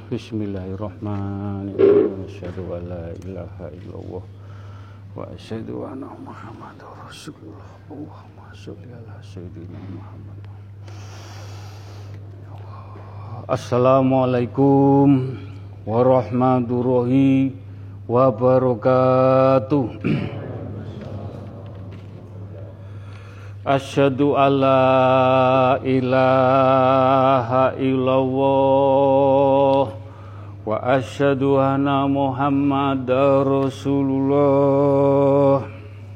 Bismillahirrahmanirrahim. Asyhadu an la ilaha illallah wa asyhadu anna Muhammadar Rasulullah. Allahumma sholli ala sayyidina Muhammad. Assalamualaikum warahmatullahi wabarakatuh. Asyhadu alla ilaha illallah wa asyhadu anna Muhammadar Rasulullah.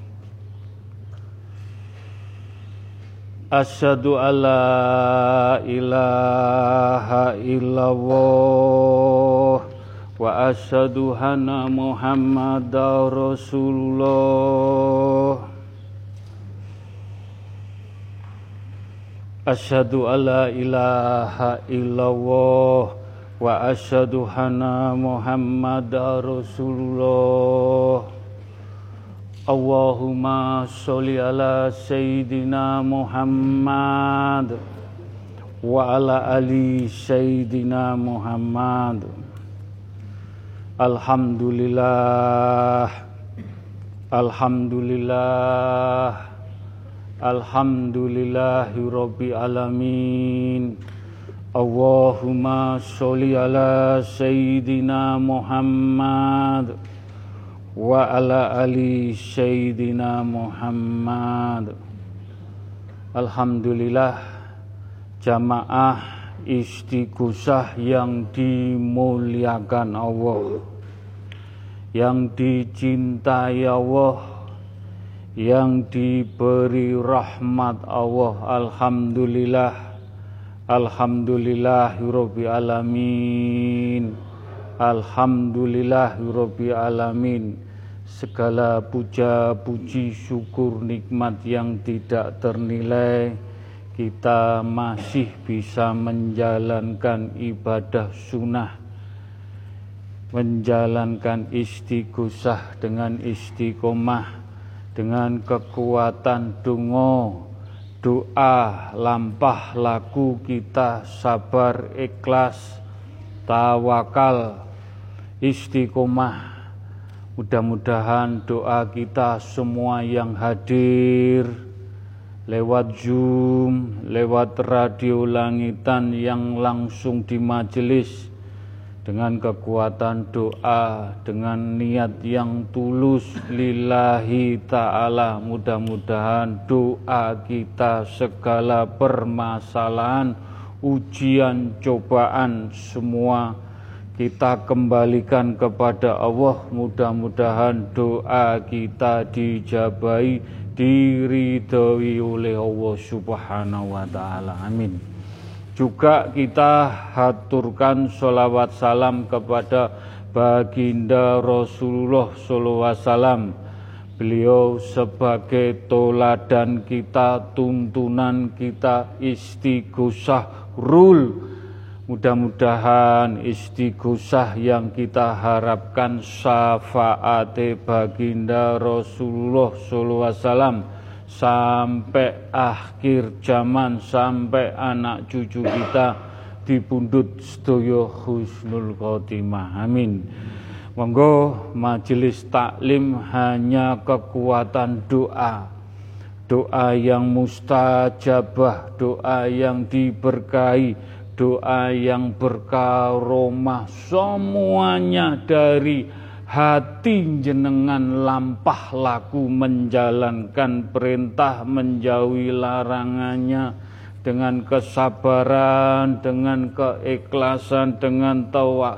Asyhadu alla ilaha illallah wa asyhadu anna Muhammadar Rasulullah. Asyhadu alla ilaha illallah wa asyhadu anna Muhammadar Rasulullah. Allahumma sholli ala sayyidina Muhammad wa ala ali sayyidina Muhammad. Alhamdulillah, alhamdulillah, alhamdulillahi rabbil alamin. Allahumma sholli ala sayyidina Muhammad wa ala ali sayyidina Muhammad. Alhamdulillah, jamaah istighosah yang dimuliakan Allah, yang dicintai Allah, yang diberi rahmat Allah. Alhamdulillah, alhamdulillahirabbil alamin, alhamdulillahirabbil alamin. Segala puja puji syukur nikmat yang tidak ternilai, kita masih bisa menjalankan ibadah sunnah, menjalankan istighosah dengan istiqomah, dengan kekuatan donga, doa, lampah laku kita sabar, ikhlas, tawakal, istiqomah. Mudah-mudahan doa kita semua yang hadir lewat Zoom, lewat radio langitan yang langsung di majelis, dengan kekuatan doa, dengan niat yang tulus lillahi ta'ala, mudah-mudahan doa kita, segala permasalahan, ujian, cobaan, semua kita kembalikan kepada Allah. Mudah-mudahan doa kita dijabahi, diridhoi oleh Allah Subhanahu wa ta'ala. Amin. Juga kita haturkan sholawat salam kepada baginda Rasulullah SAW. Beliau sebagai toladan kita, tuntunan kita, istighosah rule. Mudah-mudahan istighosah yang kita harapkan, syafaate baginda Rasulullah SAW sampai akhir zaman, sampai anak cucu kita dipundhut sedaya husnul khotimah. Amin. Monggo majelis taklim hanya kekuatan doa, doa yang mustajabah, doa yang diberkahi, doa yang berkaromah, semuanya dari hati jenengan, lampah laku menjalankan perintah, menjauhi larangannya dengan kesabaran, dengan keikhlasan, dengan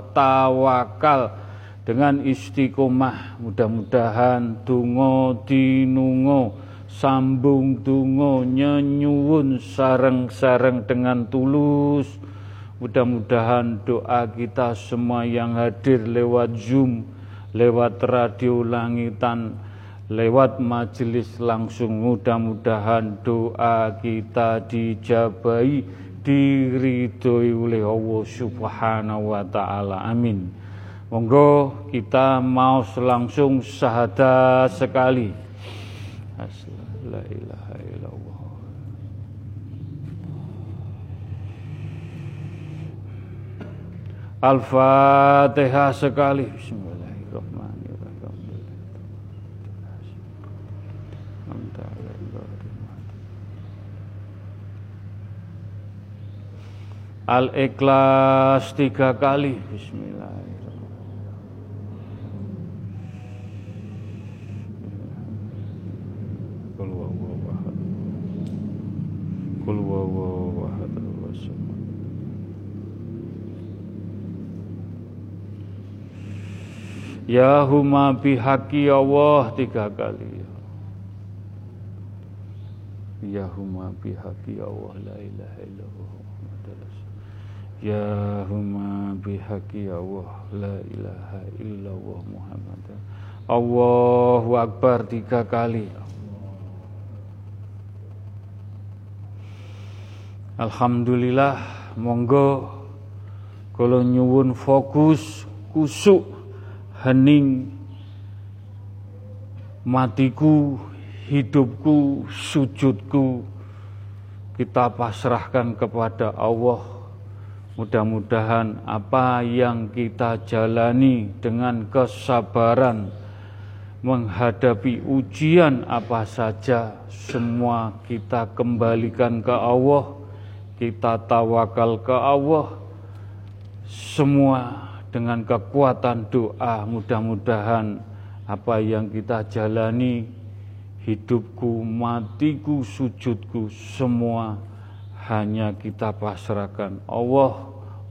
tawakal, dengan istiqomah. Mudah-mudahan donga dinunga, sambung donga nyenyuwun sareng-sareng dengan tulus. Mudah-mudahan doa kita semua yang hadir lewat Zoom, lewat radio langitan, lewat majelis langsung, mudah-mudahan doa kita dijabahi, diridhoi oleh Allah Subhanahu wa ta'ala. Amin. Monggo kita mau langsung syahadat sekali. La ilaha illallah. Al-Fatihah sekali. Bismillahirrahmanirrahim. Al-Ikhlas 3 kali. Bismillahirrahmanirrahim. Qul huwallahu ahad. Qul huwallahu ahad. Ya huma bihaqi Allah 3 kali. Ya huma bihaqi Allah la ilaha illallah. Ya huma bihaqi Allah la ilaha illallah Muhammad. Allahu Akbar 3 kali. Alhamdulillah, monggo kula nyuwun fokus, kusuk, hening matiku, hidupku, sujudku kita pasrahkan kepada Allah. Mudah-mudahan apa yang kita jalani dengan kesabaran menghadapi ujian apa saja, semua kita kembalikan ke Allah, kita tawakal ke Allah, semua dengan kekuatan doa. Mudah-mudahan apa yang kita jalani, hidupku, matiku, sujudku, semua hanya kita pasrahkan Allah.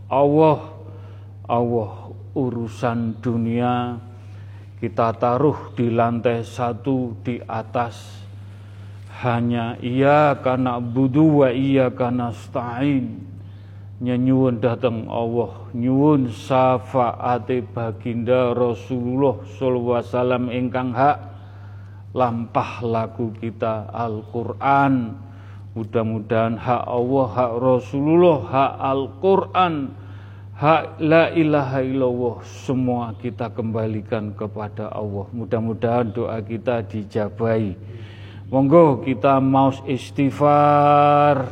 Urusan dunia kita taruh di lantai 1 di atas. Hanya iyyaka na'budu wa iyyaka nasta'in. Nyuwun dateng Allah, nyuwun syafaate baginda Rasulullah sallallahu alaihi wasallam ingkang hak lampah laku kita Al-Qur'an. Mudah-mudahan hak Allah, hak Rasulullah, hak Al-Quran, hak la ilaha illallah, semua kita kembalikan kepada Allah. Mudah-mudahan doa kita dijabahi. Monggo kita mau istighfar.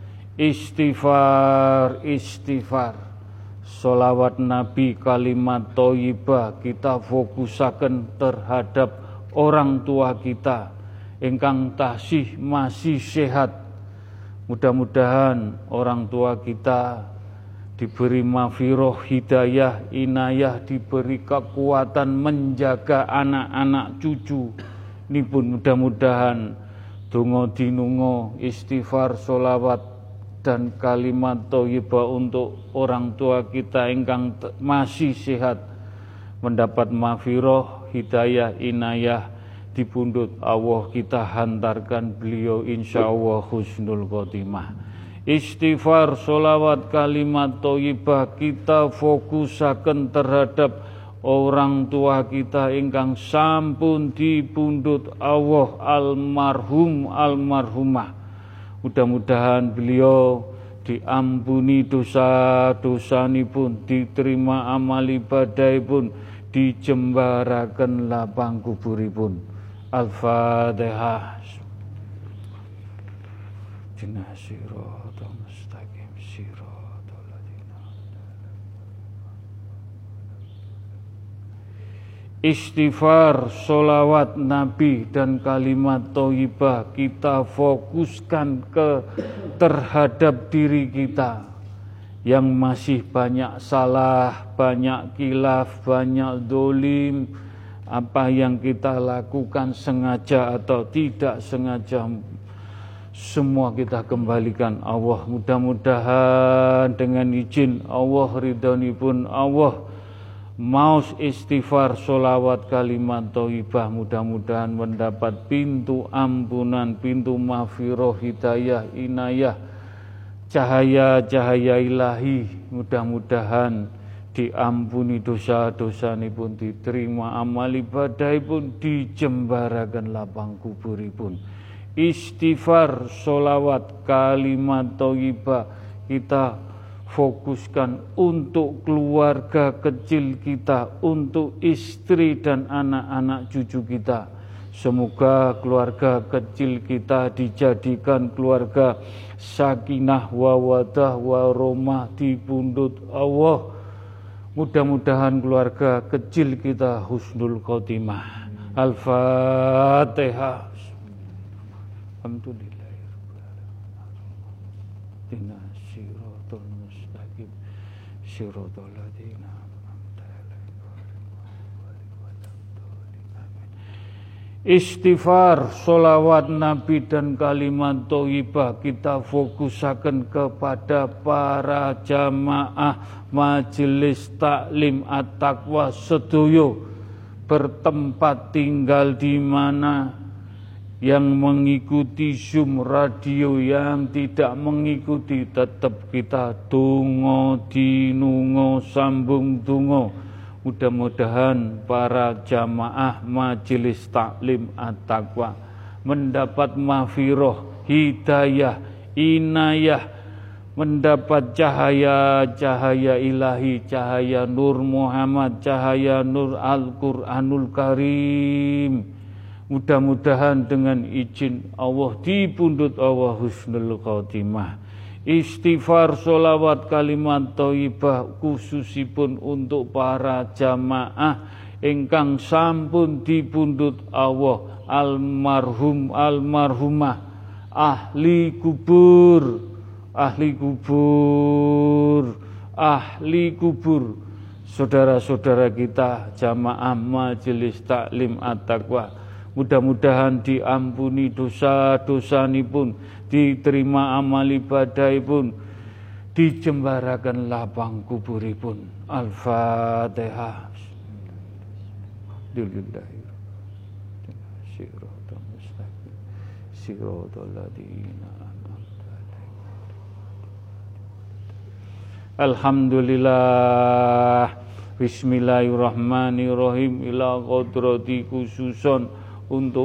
Sholawat Nabi, kalimat thayyibah kita fokusaken terhadap orang tua kita ingkang tasih masih sehat. Mudah-mudahan orang tua kita diberi maghfirah, hidayah, inayah, diberi kekuatan menjaga anak-anak cucu. Ini pun mudah-mudahan donga dinunga, istighfar, sholawat dan kalimat thayyibah untuk orang tua kita ingkang masih sehat mendapat maghfirah, hidayah, inayah. Di pundut Allah kita hantarkan beliau insyaallah husnul khotimah. Istighfar, sholawat, kalimat thayyibah kita fokusaken terhadap orang tua kita ingkang sampun di pundut Allah, almarhum almarhumah. Mudah-mudahan beliau diampuni dosa-dosanipun, diterima amal ibadahipun, dijembaraken lapang kuburipun. Al-Fatihah. Istighfar, sholawat Nabi dan kalimat thayyibah kita fokuskan terhadap diri kita yang masih banyak salah, banyak khilaf, banyak dolim. Apa yang kita lakukan sengaja atau tidak sengaja, semua kita kembalikan Allah. Mudah-mudahan dengan izin Allah, ridhonipun Allah, mau istighfar, sholawat, kalimat thayyibah, mudah-mudahan mendapat pintu ampunan, pintu maghfirah, hidayah, inayah, cahaya-cahaya ilahi. Mudah-mudahan diampuni dosa-dosanipun, diterima amal ibadahipun, dijembaraken lapang kuburipun. Istighfar, sholawat, kalimat thayyibah kita fokuskan untuk keluarga kecil kita, untuk istri dan anak-anak cucu kita. Semoga keluarga kecil kita dijadikan keluarga sakinah, wawadah, warahmah di pundut Allah. Mudah-mudahan keluarga kecil kita husnul khotimah. Al-Fatihah. Alhamdulillahirrahmanirrahim. Siratal mustaqim. Siratal ladzina an'amta alaihim. Istighfar, sholawat Nabi dan kalimat thayyibah kita fokusaken kepada para jamaah majelis taklim at-taqwa sedoyo bertempat tinggal di mana, yang mengikuti Zoom radio, yang tidak mengikuti tetap kita donga dinunga sambung donga. Mudah-mudahan para jamaah majelis taklim at-taqwa mendapat maghfirah, hidayah, inayah, mendapat cahaya-cahaya ilahi, cahaya Nur Muhammad, cahaya Nur Al-Quranul Karim. Mudah-mudahan dengan izin Allah dipundhut Allah husnul khotimah. Istighfar, sholawat, kalimat thayyibah khususipun untuk para jamaah ingkang sampun dipundhut Allah, almarhum almarhumah, ahli kubur, ahli kubur, saudara-saudara kita jamaah majelis taklim at-taqwa. Mudah-mudahan diampuni dosa-dosanipun, diterima amal ibadahipun, dijembarakan lapang kuburipun. Al-Fatihah. Alhamdulillah. Bismillahirrahmanirrahim. Ila qadrati khususon untuk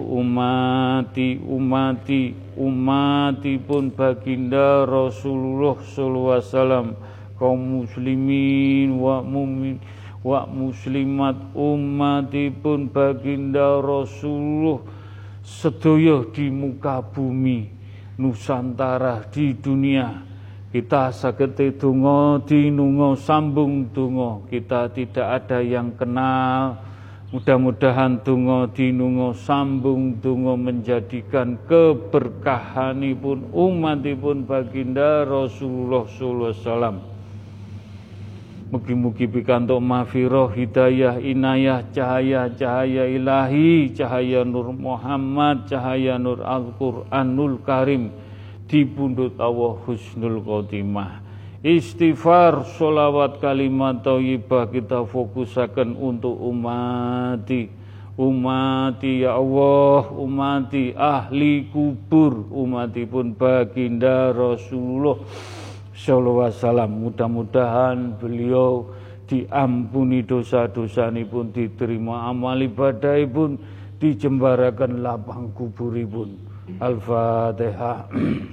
umatipun baginda Rasulullah sallallahu alaihi wasallam, kaum muslimin wa mu'min wa muslimat, umatipun baginda Rasulullah sedaya di muka bumi Nusantara di dunia. Kita saged donga dinunga sambung donga, kita tidak ada yang kenal. Mudah-mudahan donga dinunga sambung donga menjadikan keberkahanipun umatipun baginda Rasulullah sallallahu alaihi wasallam. Mugi-mugi pikantuk maghfirah, hidayah, inayah, cahaya-cahaya ilahi, cahaya Nur Muhammad, cahaya Nur Al-Quranul Karim dipundhut Allah husnul khotimah. Istighfar, sholawat, kalimat thayyibah kita fokusaken untuk umati ya Allah, umati ahli kubur, umatipun baginda Rasulullah sallallahu alaihi wasallam. Mudah-mudahan beliau diampuni dosa-dosanipun, diterima amal ibadahipun, dijembaraken lapang kuburipun. Al-Fatihah.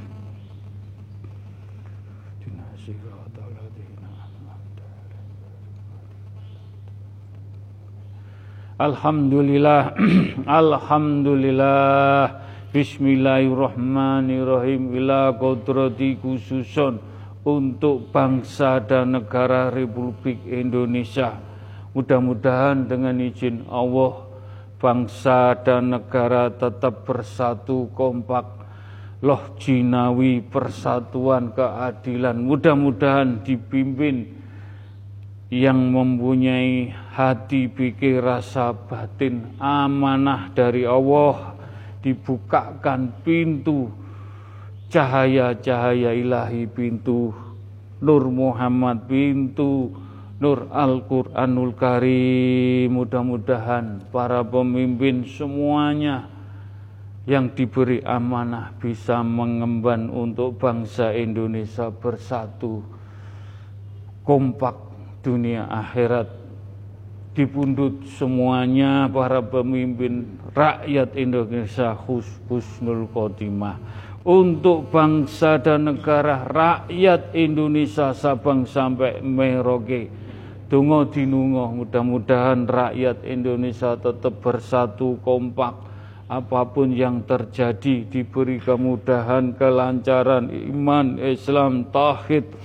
Alhamdulillah. Alhamdulillah. Bismillahirrahmanirrahim. Ila qadrati khususon untuk bangsa dan negara Republik Indonesia. Mudah-mudahan dengan izin Allah bangsa dan negara tetap bersatu kompak, loh jinawi, persatuan, keadilan. Mudah-mudahan dipimpin yang mempunyai hati, pikir, rasa batin amanah dari Allah, dibukakan pintu cahaya-cahaya ilahi, pintu Nur Muhammad, pintu Nur Al-Quranul Karim. Mudah-mudahan para pemimpin semuanya yang diberi amanah bisa mengemban untuk bangsa Indonesia bersatu kompak dunia akhirat, dipundhut semuanya para pemimpin rakyat Indonesia husnul khotimah. Untuk bangsa dan negara rakyat Indonesia Sabang sampai Merauke, donga dinunga mudah-mudahan rakyat Indonesia tetap bersatu kompak, apapun yang terjadi diberi kemudahan, kelancaran iman, Islam, tauhid,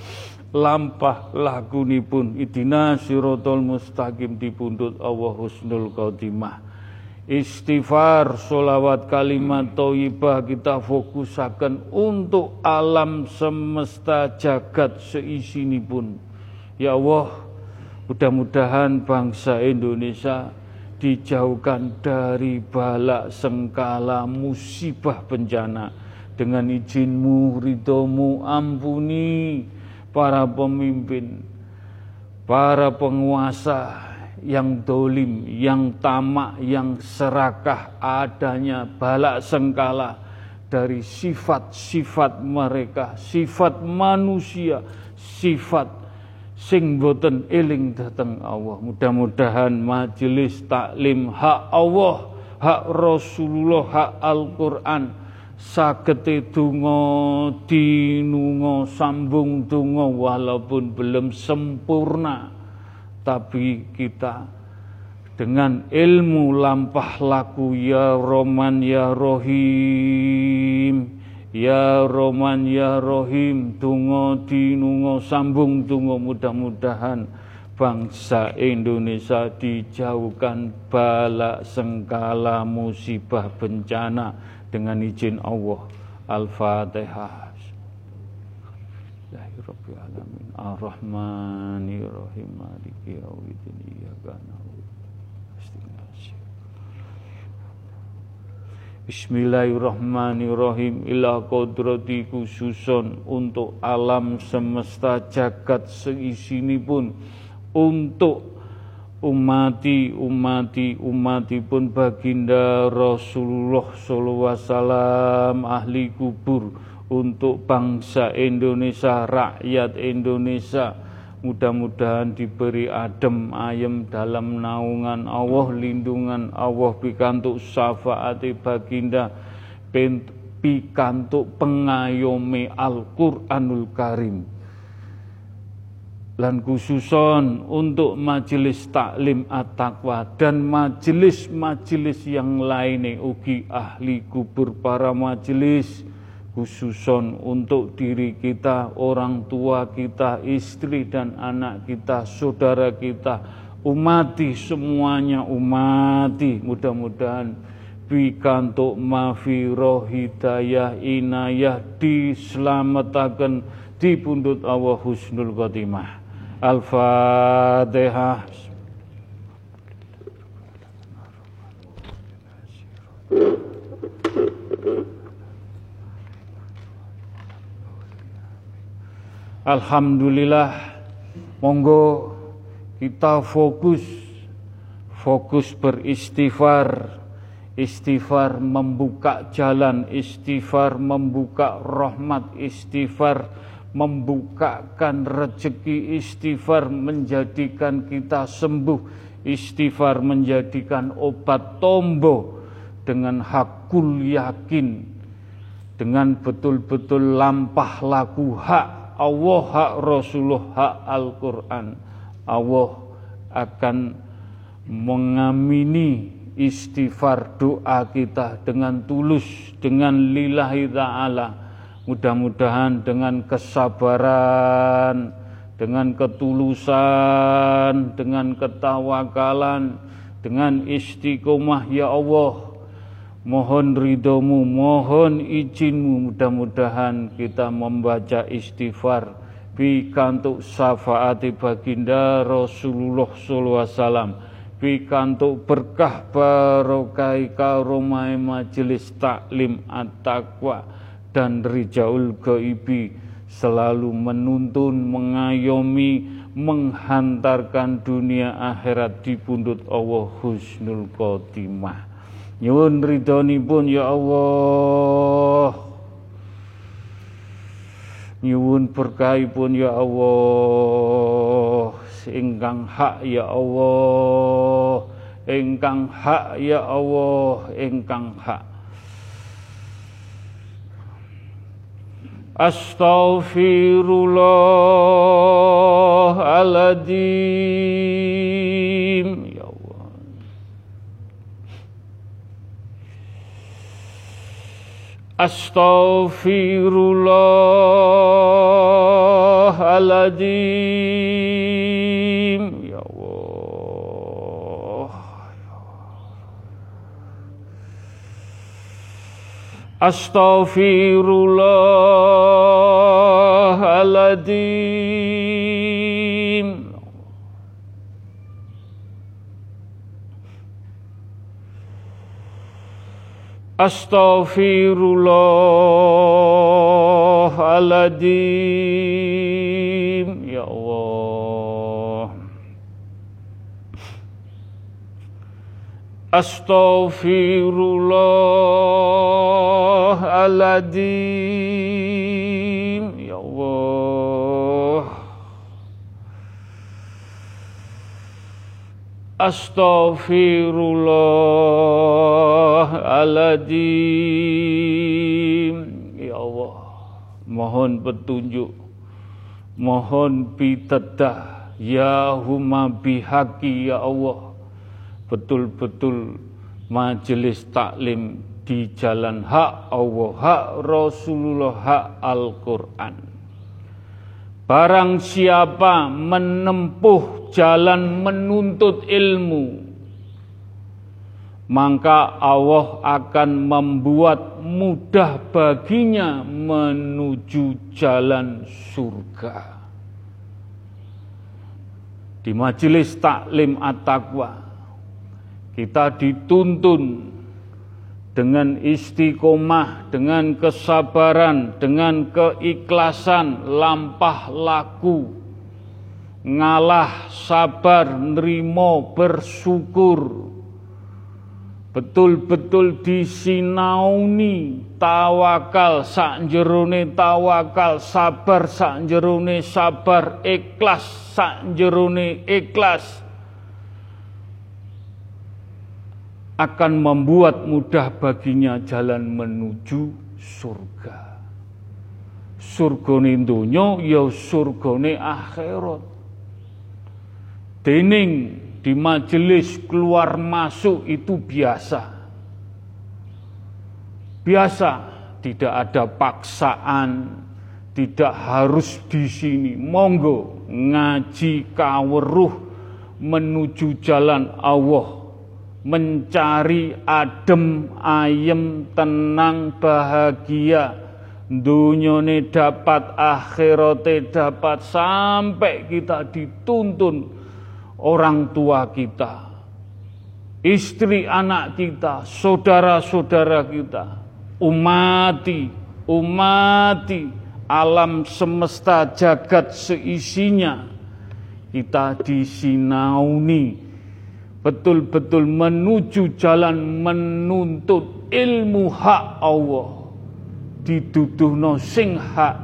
lampah lakunipun idina siratal mustaqim dipundhut Allah husnul khotimah. Istighfar, sholawat, kalimat thayyibah kita fokusaken untuk alam semesta jagat seisinipun. Ya Allah, mudah-mudahan bangsa Indonesia dijauhkan dari bala sengkala musibah bencana. Dengan izin-Mu, ridho-Mu, ampuni para pemimpin, para penguasa yang dolim, yang tamak, yang serakah, adanya bala sengkala dari sifat-sifat mereka, sifat manusia, sifat sing boten eling dateng Allah. Mudah-mudahan majelis taklim hak Allah, hak Rasulullah, hak Al-Quran sagete donga dinunga sambung donga walaupun belum sempurna, tapi kita dengan ilmu lampah laku ya Rahman ya Rahim, ya Rahman ya Rahim, donga dinunga sambung donga, mudah-mudahan bangsa Indonesia dijauhkan bala sengkala musibah bencana dengan izin Allah. Al-Fatihah. Bismillahirrahmanirrahim. Alamin. Ar-Rahmanirrahim. Maliki yaumiddin. Iyyaka na'budu wa iyyaka nasta'in. Bismillahirrahmanirrahim. Ila qadrati khususon untuk alam semesta jagat seisinipun, untuk umatipun baginda Rasulullah sallallahu alaihi wasallam, ahli kubur, untuk bangsa Indonesia, rakyat Indonesia, mudah-mudahan diberi adem ayem dalam naungan Allah, lindungan Allah, pikantuk syafaati baginda, pikantuk pengayomi Al-Qur'anul Karim. Lan khususon untuk majelis taklim at-taqwa dan majelis-majelis yang lainnya, ugi ahli kubur para majelis, khususon untuk diri kita, orang tua kita, istri dan anak kita, saudara kita, umati semuanya, umati, mudah-mudahan pikantuk mafiroh, hidayah, inayah, dislametaken dipundhut Allah husnul khotimah. Al-Fatihah. Alhamdulillah, monggo kita fokus beristighfar. Istighfar membuka jalan, istighfar membuka rahmat, istighfar membukakan rezeki, istighfar menjadikan kita sembuh, istighfar menjadikan obat tombo dengan hakul yakin, dengan betul-betul lampah laku hak Allah, hak Rasulullah, hak Al-Quran. Allah akan mengamini istighfar doa kita dengan tulus, dengan lillahi ta'ala. Mudah-mudahan dengan kesabaran, dengan ketulusan, dengan ketawakalan, dengan istiqomah, ya Allah, mohon ridhomu, mohon izinmu, mudah-mudahan kita membaca istighfar pikantuk syafaati baginda Rasulullah sallallahu alaihi wasallam, pikantuk berkah barokah karomai majelis taklim at-taqwa dan rijaul ghaibi, selalu menuntun, mengayomi, menghantarkan dunia akhirat dipundhut Allah husnul khotimah. Nyuwun ridhonipun ya Allah, nyuwun berkahipun ya Allah, ingkang hak ya Allah, ingkang hak ya Allah, ingkang hak. Astaghfirullahaladzim, ya Allah. Astaghfirullahaladzim. Astaghfirullahaladzim. Ya Allah. Astaghfirullahaladzim. Astaghfirullahaladzim. Ya Allah. Astaghfirullahaladzim. Ya Allah. Astaghfirullahaladzim. Ya Allah, mohon petunjuk, mohon pitedah, ya huma bihaqi ya Allah. Betul-betul majelis taklim di jalan hak Allah, hak Rasulullah, hak Al-Quran. Barang siapa menempuh jalan menuntut ilmu, maka Allah akan membuat mudah baginya menuju jalan surga. Di majelis taklim at-taqwa, kita dituntun dengan istiqomah, dengan kesabaran, dengan keikhlasan, lampah laku, ngalah, sabar, nerimo, bersyukur, betul-betul disinauni, tawakal sak jerone tawakal, sabar sak jerone sabar, ikhlas sak jerone ikhlas, akan membuat mudah baginya jalan menuju surga. Surgane donya ya surgane akhirat. Dening di majelis keluar masuk itu biasa. Biasa, tidak ada paksaan, tidak harus di sini. Monggo ngaji kaweruh menuju jalan Allah. Mencari adem, ayem, tenang, bahagia, dunyane dapat, akhirate dapat, sampai kita dituntun orang tua kita, istri anak kita, saudara-saudara kita, umati alam semesta jagat seisinya, kita disinauni betul-betul menuju jalan menuntut ilmu hak Allah, diduduhno sing hak.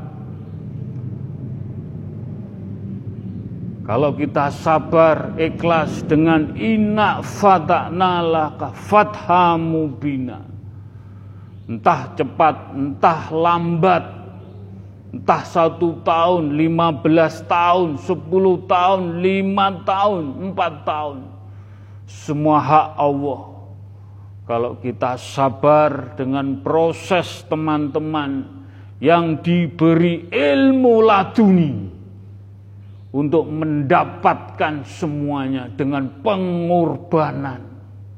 Kalau kita sabar, ikhlas dengan inna fata'na laka fatha mubina, entah cepat, entah lambat, entah 1 tahun, 15 tahun, 10 tahun, 5 tahun, 4 tahun, semua hak Allah. Kalau kita sabar dengan proses teman-teman yang diberi ilmu laduni untuk mendapatkan semuanya dengan pengorbanan,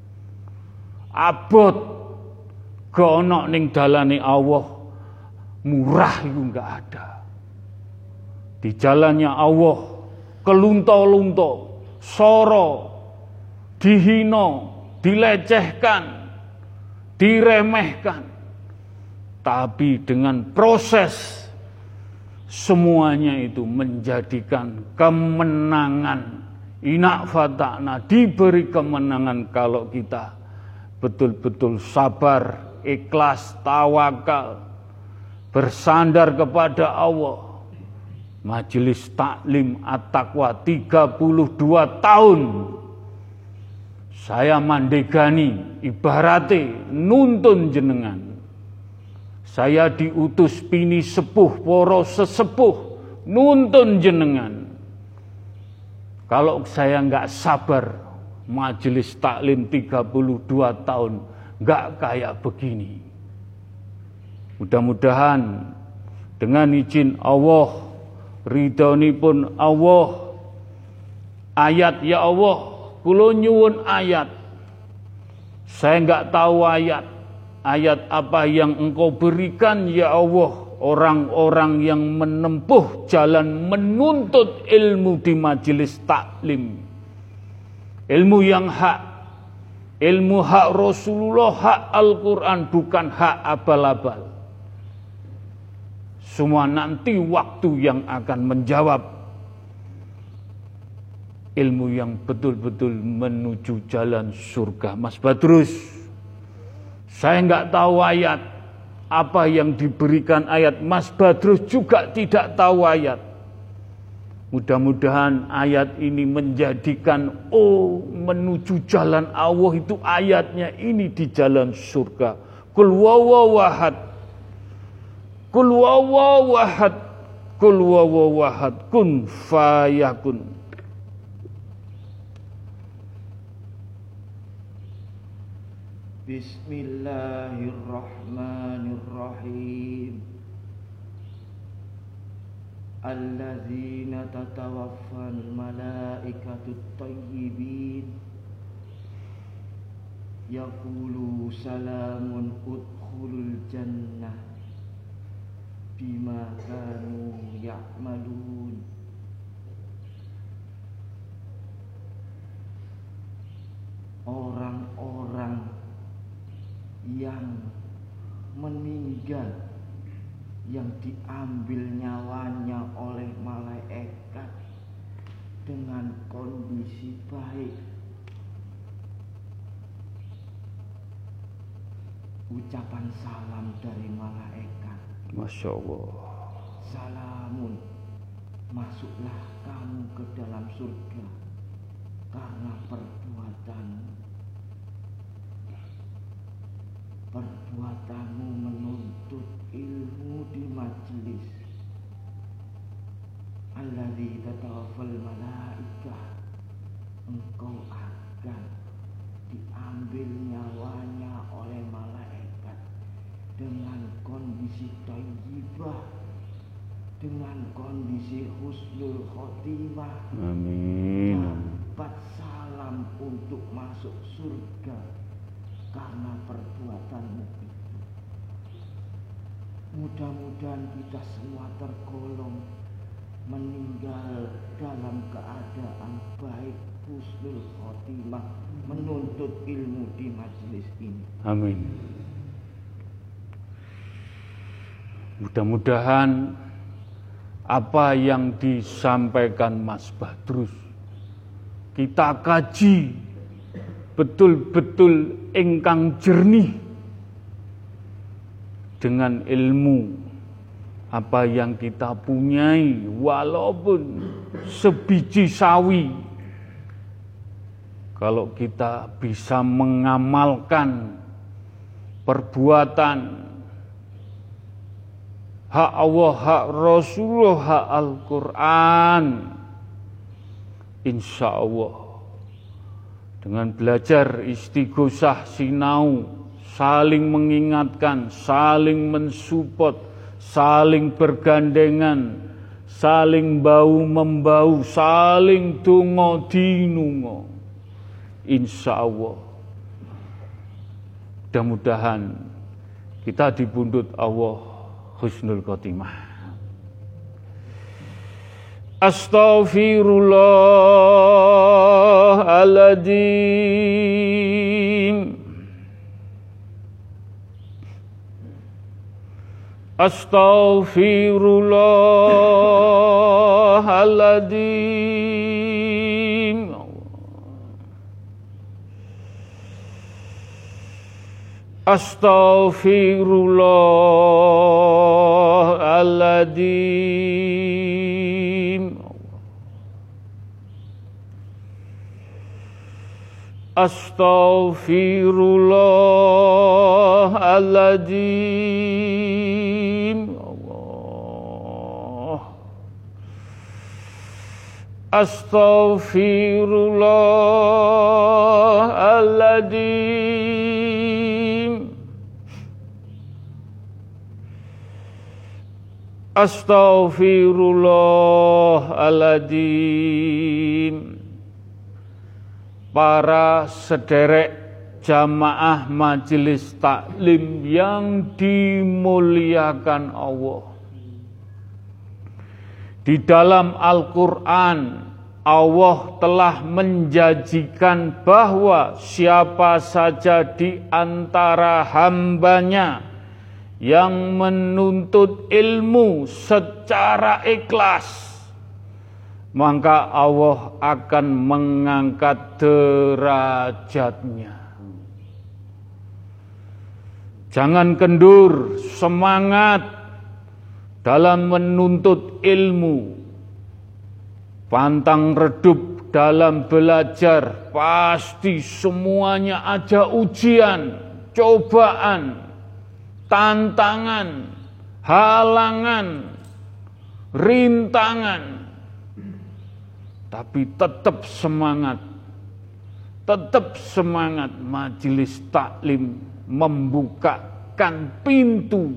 abot gono ning dalane Allah, murah itu enggak ada. Di jalannya Allah kelunto-lunto, soro, dihino, dilecehkan, diremehkan, tapi dengan proses semuanya itu menjadikan kemenangan. Inak fata'na, diberi kemenangan kalau kita betul-betul sabar, ikhlas, tawakal, bersandar kepada Allah. Majelis taklim at-taqwa 32 tahun saya mandegani, ibarate nuntun jenengan. Saya diutus pini sepuh, poro sesepuh, nuntun jenengan. Kalau saya enggak sabar, majelis taklim 32 tahun enggak kayak begini. Mudah-mudahan dengan izin Allah, ridhonipun Allah. Ayat, ya Allah, kula nyuwun ayat. Saya enggak tahu ayat. Ayat apa yang Engkau berikan, ya Allah, orang-orang yang menempuh jalan menuntut ilmu di majelis taklim. Ilmu yang hak, ilmu hak Rasulullah, hak Al-Quran, bukan hak abal-abal. Semua nanti waktu yang akan menjawab. Ilmu yang betul-betul menuju jalan surga. Mas Badrus, saya enggak tahu ayat. Apa yang diberikan ayat, Mas Badrus juga tidak tahu ayat. Mudah-mudahan ayat ini menjadikan menuju jalan Allah itu ayatnya ini di jalan surga. Qul huwallahu ahad. Qul huwallahu ahad. Qul huwallahu ahad. Kun fayakun. Bismillahirrahmanirrahim. Alladzina tatawaffal malaikatu thayyibin yaqulu salamun udkhulul jannah bima kanu ya'malun. Orang-orang yang meninggal, yang diambil nyawanya oleh malaikat dengan kondisi baik, ucapan salam dari malaikat, Masya Allah, salamun, masuklah kamu ke dalam surga karena perbuatanmu menuntut ilmu di majelis. Alladzi tatawaffal malaikah, engkau akan diambil nyawanya oleh malaikat dengan kondisi thayyibah, dengan kondisi husnul khotimah. amin. Dapat salam untuk masuk surga karena perbuatanmu itu. Mudah-mudahan kita semua tergolong meninggal dalam keadaan baik, husnul khotimah, menuntut ilmu di majelis ini. Amin. Mudah-mudahan apa yang disampaikan Mas Badrus kita kaji betul-betul ingkang jernih dengan ilmu apa yang kita punyai, walaupun sebiji sawi. Kalau kita bisa mengamalkan perbuatan hak Allah, hak Rasulullah, hak Al-Quran, insya Allah dengan belajar istighosah, sinau, saling mengingatkan, saling mensupport, saling bergandengan, saling bau-membau, saling tungo-dinungo, insya Allah mudah-mudahan kita dibundut Allah husnul khotimah. Astaghfirullahaladzim. Astaghfirullahaladzim. Astaghfirullahaladzim. Astaghfirullahaladzim. Allah. Astaghfirullahaladzim. Astaghfirullahaladzim. Para sederek jamaah majelis taklim yang dimuliakan Allah. Di dalam Al-Quran, Allah telah menjanjikan bahwa siapa saja di antara hambanya yang menuntut ilmu secara ikhlas, maka Allah akan mengangkat derajatnya. Jangan kendur, semangat dalam menuntut ilmu. Pantang redup dalam belajar, pasti semuanya ada ujian, cobaan, tantangan, halangan, rintangan. Tapi tetap semangat. Majelis taklim membukakan pintu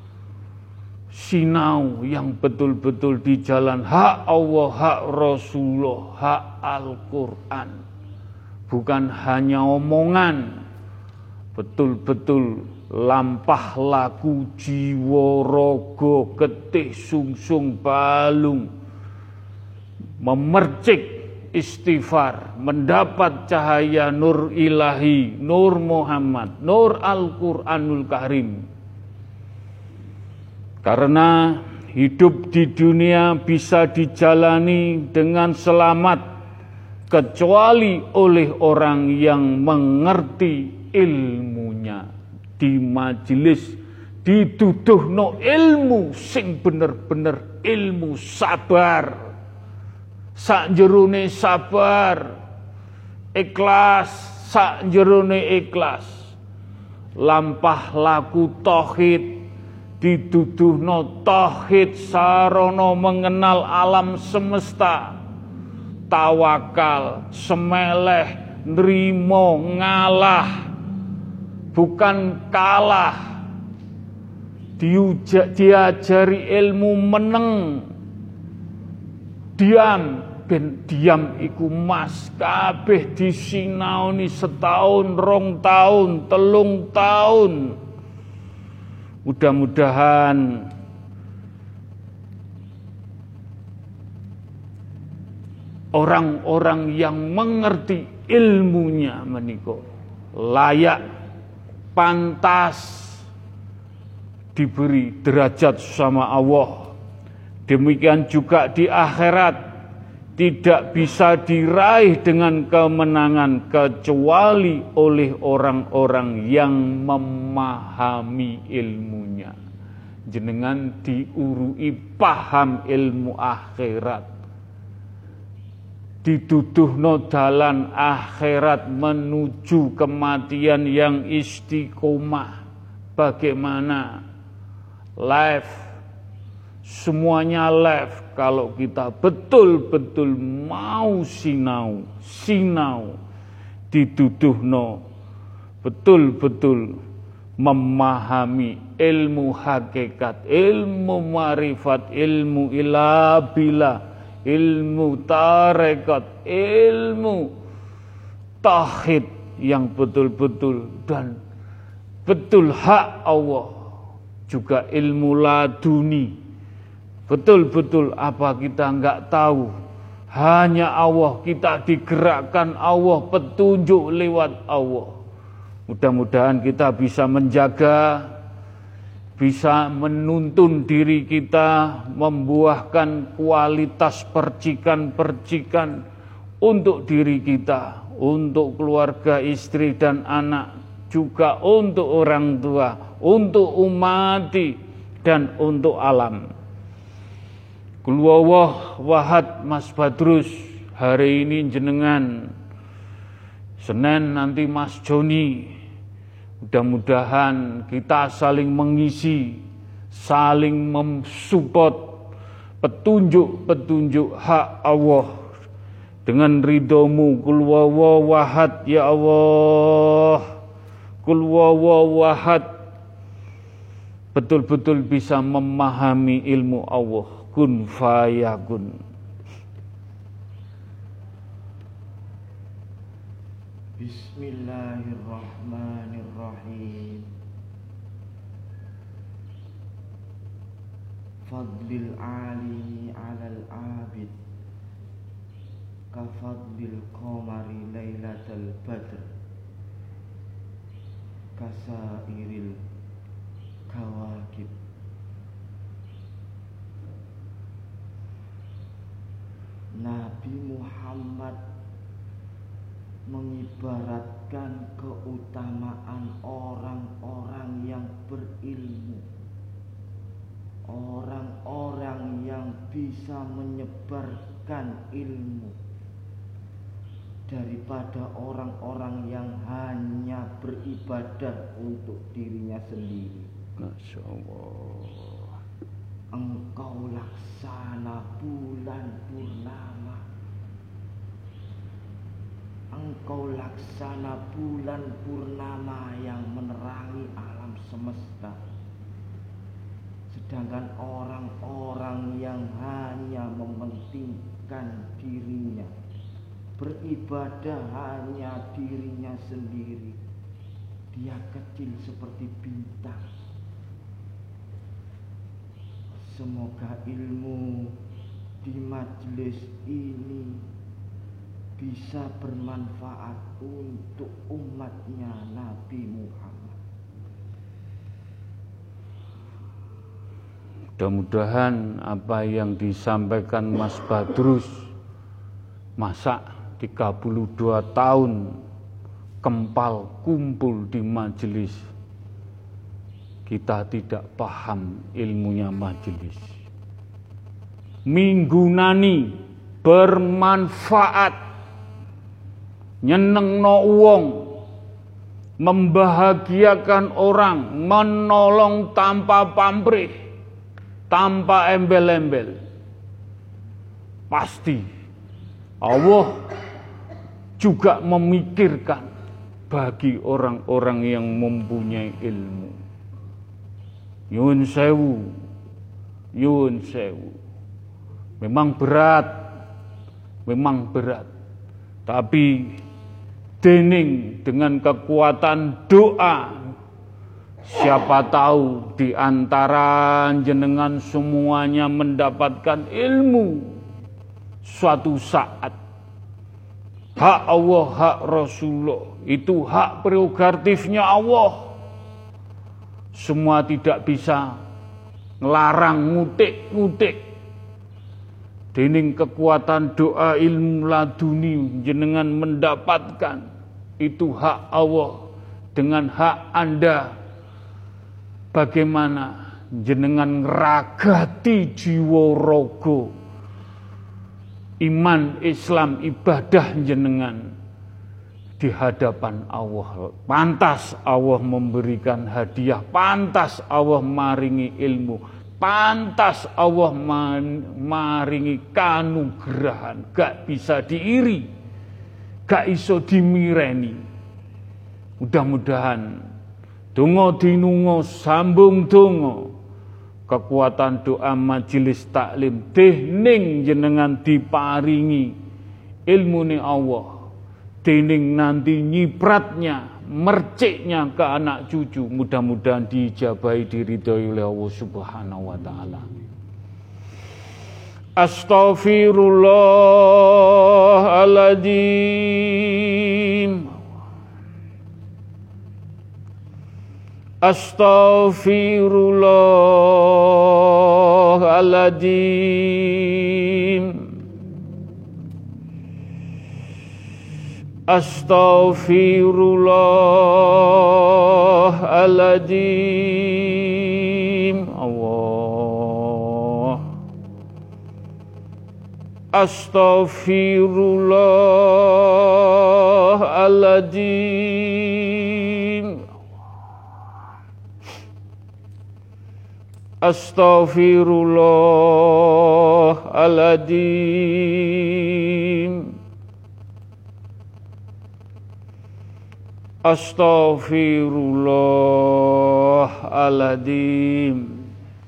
sinau yang betul-betul di jalan hak Allah, hak Rasulullah, hak Al-Quran. Bukan hanya omongan, betul-betul lampah laku jiwa rogo getih sungsung balung, memercik istighfar, mendapat cahaya nur ilahi, nur Muhammad, nur Al-Quranul Karim. Karena hidup di dunia bisa dijalani dengan selamat kecuali oleh orang yang mengerti ilmunya. Di majelis dituduhno ilmu sing bener-bener ilmu sabar. Sakjerone sabar, ikhlas, sakjerone ikhlas. Lampah laku tauhid, dituduhno tauhid sarana mengenal alam semesta. Tawakal, semeleh, nrimo, ngalah, bukan kalah. Diajari ilmu meneng, diam, ben diam iku mas kabeh disinaoni setahun, 2 tahun, 3 tahun. Mudah-mudahan orang-orang yang mengerti ilmunya menika layak, pantas diberi derajat sama Allah. Demikian juga di akhirat tidak bisa diraih dengan kemenangan kecuali oleh orang-orang yang memahami ilmunya. Jenengan diurui paham ilmu akhirat. Dituduhno dalan akhirat menuju kematian yang istiqomah. Bagaimana? Life. Semuanya live kalau kita betul-betul mau sinau, dituduhno betul-betul memahami ilmu hakikat, ilmu marifat, ilmu ilabila, ilmu tarekat, ilmu tauhid yang betul-betul dan betul hak Allah, juga ilmu laduni. Betul-betul apa kita enggak tahu. Hanya Allah, kita digerakkan Allah, petunjuk lewat Allah. Mudah-mudahan kita bisa menjaga, bisa menuntun diri kita, membuahkan kualitas percikan-percikan untuk diri kita, untuk keluarga, istri dan anak, juga untuk orang tua, untuk umat dan untuk alam. Qul huwallahu ahad. Mas Badrus, hari ini jenengan, Senin nanti Mas Joni. Mudah-mudahan kita saling mengisi, saling mensupport petunjuk-petunjuk hak Allah dengan ridhomu. Qul huwallahu ahad ya Allah. Qul huwallahu ahad. betul-betul bisa memahami ilmu Allah, kun fayakun. Bismillahirrahmanirrahim. Fadlil alimi alal abid kafadlil qamari lailatal badr kasairil kawakib. Nabi Muhammad mengibaratkan keutamaan orang-orang yang berilmu, orang-orang yang bisa menyebarkan ilmu, daripada orang-orang yang hanya beribadah untuk dirinya sendiri. Masya Allah. Engkau laksana bulan purnama, engkau laksana bulan purnama yang menerangi alam semesta. Sedangkan orang-orang yang hanya mementingkan dirinya, beribadah hanya dirinya sendiri, dia kecil seperti bintang. Semoga ilmu di majelis ini bisa bermanfaat untuk umatnya Nabi Muhammad. Mudah-mudahan apa yang disampaikan Mas Badrus, masa 32 tahun kempal kumpul di majelis, kita tidak paham ilmunya majelis. Minggunani bermanfaat, nyenengno wong, membahagiakan orang, menolong tanpa pamrih, tanpa embel-embel. Pasti Allah juga memikirkan bagi orang-orang yang mempunyai ilmu. Yun sewu. Memang berat. Tapi dening dengan kekuatan doa, siapa tahu di antara jenengan semuanya mendapatkan ilmu suatu saat. Hak Allah, hak Rasulullah, itu hak prerogatifnya Allah. Semua tidak bisa ngelarang ngutik-ngutik. Dening kekuatan doa ilmu laduni jenengan mendapatkan, itu hak Allah dengan hak Anda. Bagaimana jenengan ngeragati jiwa raga iman, Islam, ibadah jenengan di hadapan Allah. Pantas Allah memberikan hadiah, pantas Allah maringi ilmu, pantas Allah maringi kanugrahan. Gak bisa diiri, gak iso dimireni. Mudah-mudahan donga dinunga sambung donga, kekuatan doa majelis taklim dening jenengan diparingi ilmune Allah, dening nanti nyipratnya, merciknya ke anak cucu, mudah-mudahan diijabahi, diridhoi oleh Allah Subhanahu wa taala. Astaghfirullahaladzim. Astaghfirullahaladzim. Astaghfirullahaladzim. Allah. Astaghfirullahaladzim. Astaghfirullahaladzim. Astaghfirullahaladzim.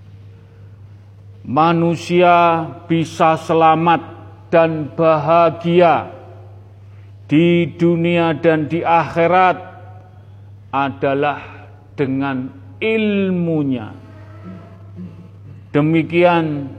Manusia bisa selamat dan bahagia di dunia dan di akhirat adalah dengan ilmunya. Demikian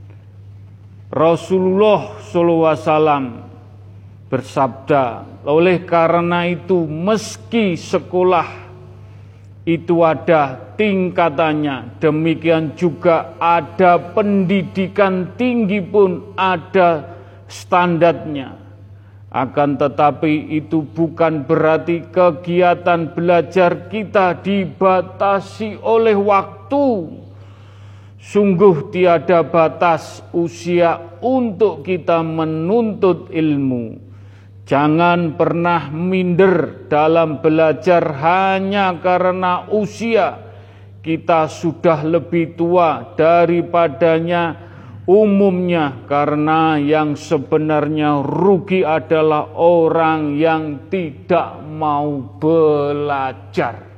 Rasulullah SAW bersabda, oleh karena itu meski sekolah itu ada tingkatannya, demikian juga ada pendidikan tinggi pun ada standarnya. Akan tetapi itu bukan berarti kegiatan belajar kita dibatasi oleh waktu. Sungguh tiada batas usia untuk kita menuntut ilmu. Jangan pernah minder dalam belajar hanya karena usia kita sudah lebih tua daripadanya umumnya, karena yang sebenarnya rugi adalah orang yang tidak mau belajar.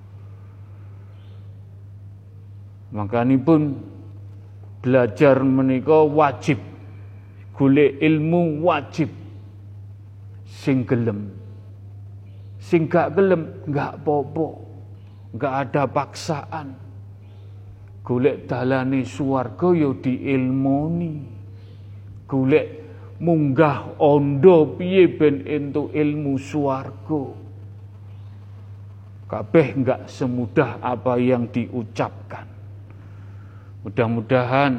Makanipun belajar menika wajib, golek ilmu wajib. Sing gelem, sing gak gelem gak apa-apa, gak ada paksaan. Golek dalane swarga ya diilmoni, golek munggah ondo piye ben entuk ilmu swarga. Kabeh gak semudah apa yang diucapkan. Mudah-mudahan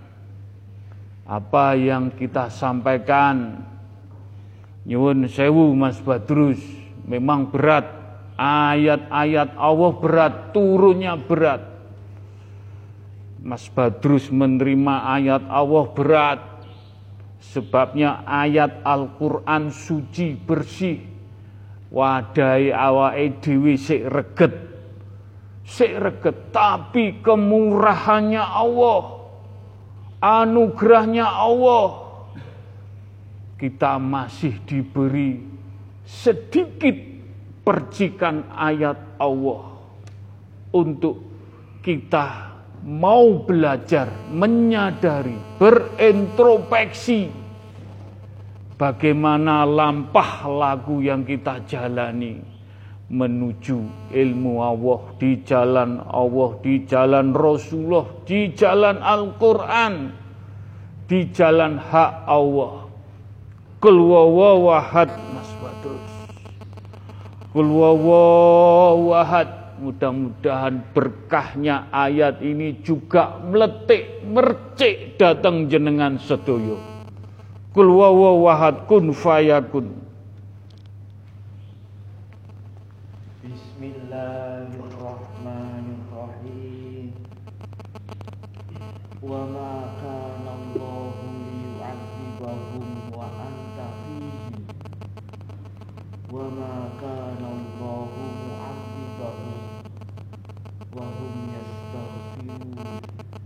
apa yang kita sampaikan, nyuwun sewu Mas Badrus, memang berat. Ayat-ayat Allah berat, turunnya berat. Mas Badrus menerima ayat Allah berat. Sebabnya ayat Al-Quran suci bersih. Wadai awake dhewe sik reget. Tapi kemurahannya Allah, anugerahnya Allah, kita masih diberi sedikit percikan ayat Allah untuk kita mau belajar, menyadari, berintrospeksi bagaimana lampah lagu yang kita jalani menuju ilmu Allah, di jalan Allah, di jalan Rasulullah, di jalan Al-Quran, di jalan hak Allah. Qul huwallahu ahad, Mas Badrus. Qul huwallahu ahad. Mudah-mudahan berkahnya ayat ini juga meletik, mercik datang jenengan sedoyo. Qul huwallahu ahad, kun fayakun. Bismillahirrahmanirrahim. Wa ma kana Allahu liyu'adzibahum wa anta fihim. Wa ma kana Allahu mu'adzibahum wa hum yastaghfirun.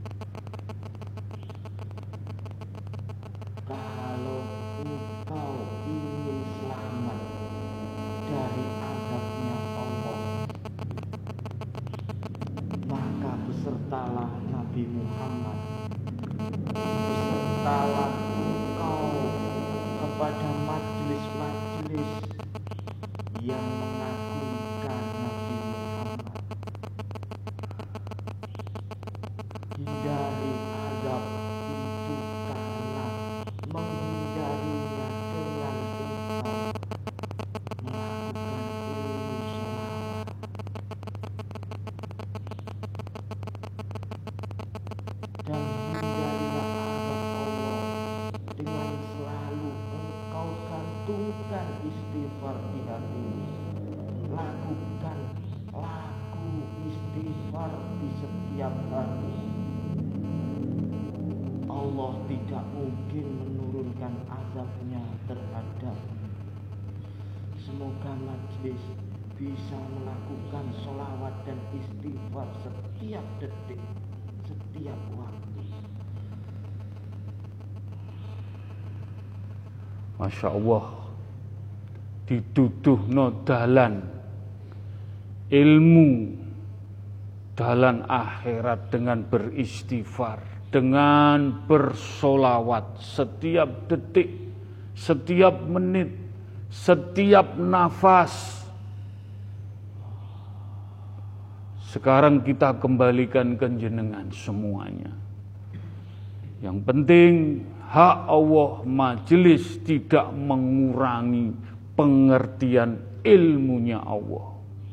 Kalau engkau ingin selamat dari azabnya Allah, maka besertalah Nabi Muhammad, besertalah engkau kepada majelis-majelis yang mengagungkan Nabi Muhammad. Hindari azab itu karena menghindarinya dengan engkau melakukan ilmu sholawat. Dan hindarilah azab Allah dengan selalu engkau gantungkan istighfar di hatimu. Lakukan lagu istighfar di setiap hari. Allah tidak mungkin menurunkan azabnya terhadap. Semoga majelis bisa melakukan sholawat dan istighfar setiap detik, setiap waktu. Masya Allah, dituduhno dalan ilmu dalam akhirat dengan beristighfar, dengan bersolawat setiap detik, setiap menit, setiap nafas. Sekarang kita kembalikan ke jenengan semuanya. Yang penting hak Allah, majelis tidak mengurangi pengertian ilmunya Allah.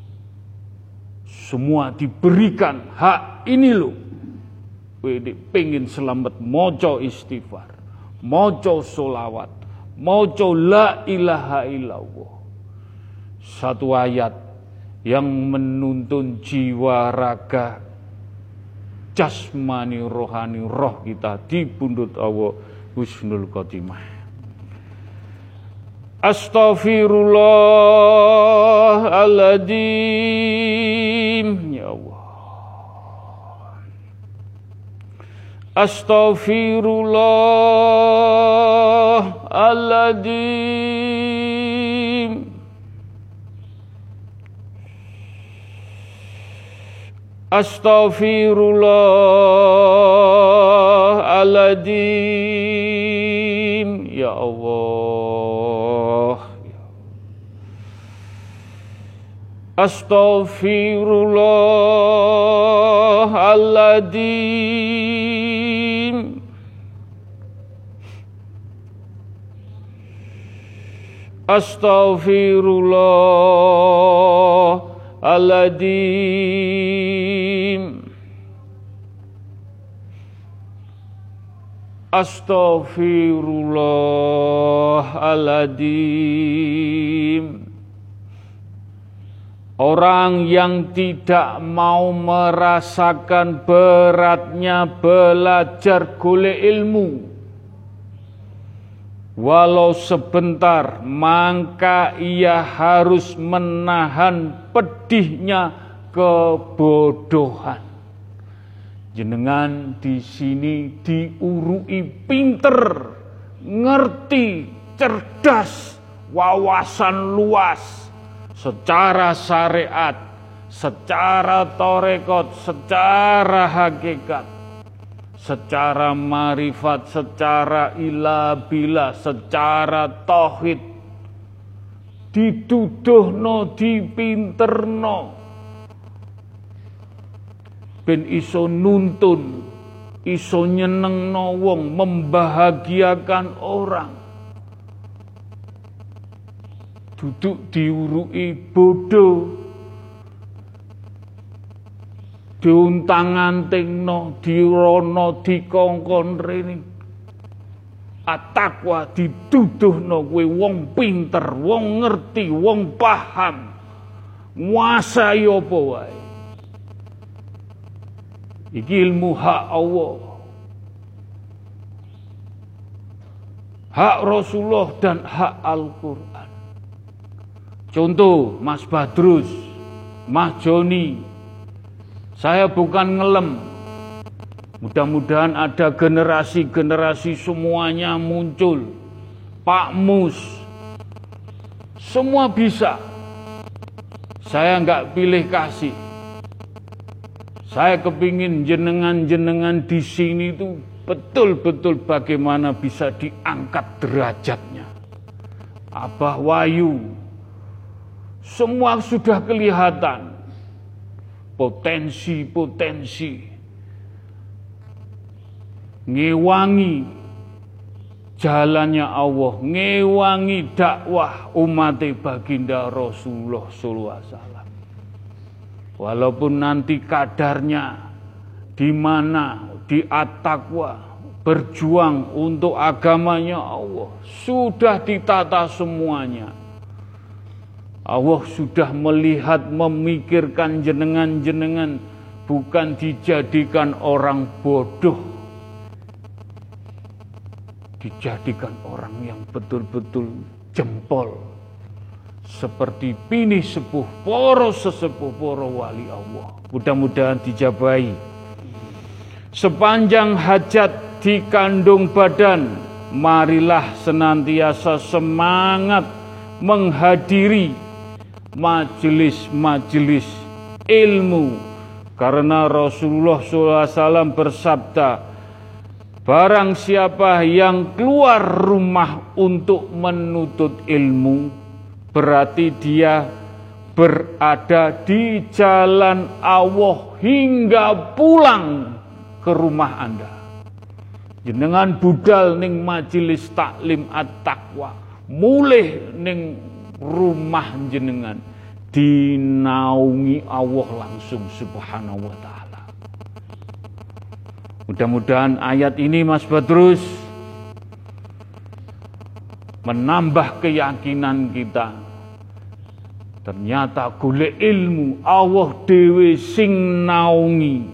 Semua diberikan hak ini loh. Wede pengen selamat moco istighfar, moco solawat, moco la ilaha illallah. Satu ayat yang menuntun jiwa raga jasmani rohani roh kita di pundut Allah husnul khotimah. Astaghfirullahaladzim, ya Allah. Astaghfirullahaladzim. Astaghfirullahaladzim, ya Allah. Astaghfirullahaladzim. Astaghfirullahaladzim. Astaghfirullahaladzim. Orang yang tidak mau merasakan beratnya belajar golek ilmu, walau sebentar, maka ia harus menahan pedihnya kebodohan. Jenengan di sini diurui pinter, ngerti, cerdas, wawasan luas, secara syariat, secara torekot, secara hakikat, secara marifat, secara ilabila, secara tauhid, dituduhno, dipinterno, ben iso nuntun, iso nyenengno wong, membahagiakan orang. Duduk diurui bodoh, diuntang-antingno, dirono, dikongkon rene. At-taqwa dituduhno kowe wong pinter, wong ngerti, wong paham, nguasai apa wae. Iki ilmu hak Allah, hak Rasulullah dan hak Al-Quran. Contoh Mas Badrus, Mas Joni, saya bukan ngelem. Mudah-mudahan ada generasi-generasi semuanya muncul. Pak Mus, semua bisa. Saya enggak pilih kasih. Saya kepingin jenengan-jenengan di sini itu betul-betul bagaimana bisa diangkat derajatnya. Abah Wayu, semua sudah kelihatan potensi-potensi ngewangi jalannya Allah, ngewangi dakwah umat baginda Rasulullah sallallahu alaihi wasallam. Walaupun nanti kadarnya di mana di at-taqwa berjuang untuk agamanya Allah, sudah ditata semuanya. Allah sudah melihat, memikirkan jenengan-jenengan bukan dijadikan orang bodoh, dijadikan orang yang betul-betul jempol. Seperti pini sepuh, poro sesepuh, poro wali Allah. Mudah-mudahan dijabahi. Sepanjang hajat di kandung badan, marilah senantiasa semangat menghadiri majelis-majelis ilmu. Karena Rasulullah SAW bersabda, barang siapa yang keluar rumah untuk menuntut ilmu, berarti dia berada di jalan Allah hingga pulang ke rumah Anda. Jenengan budal ning majelis taklim at-taqwa, mulih ning rumah jenengan dinaungi Allah langsung subhanahu wa ta'ala. Mudah-mudahan ayat ini Mas Badrus menambah keyakinan kita. Ternyata golek ilmu Allah dhewe sing naungi.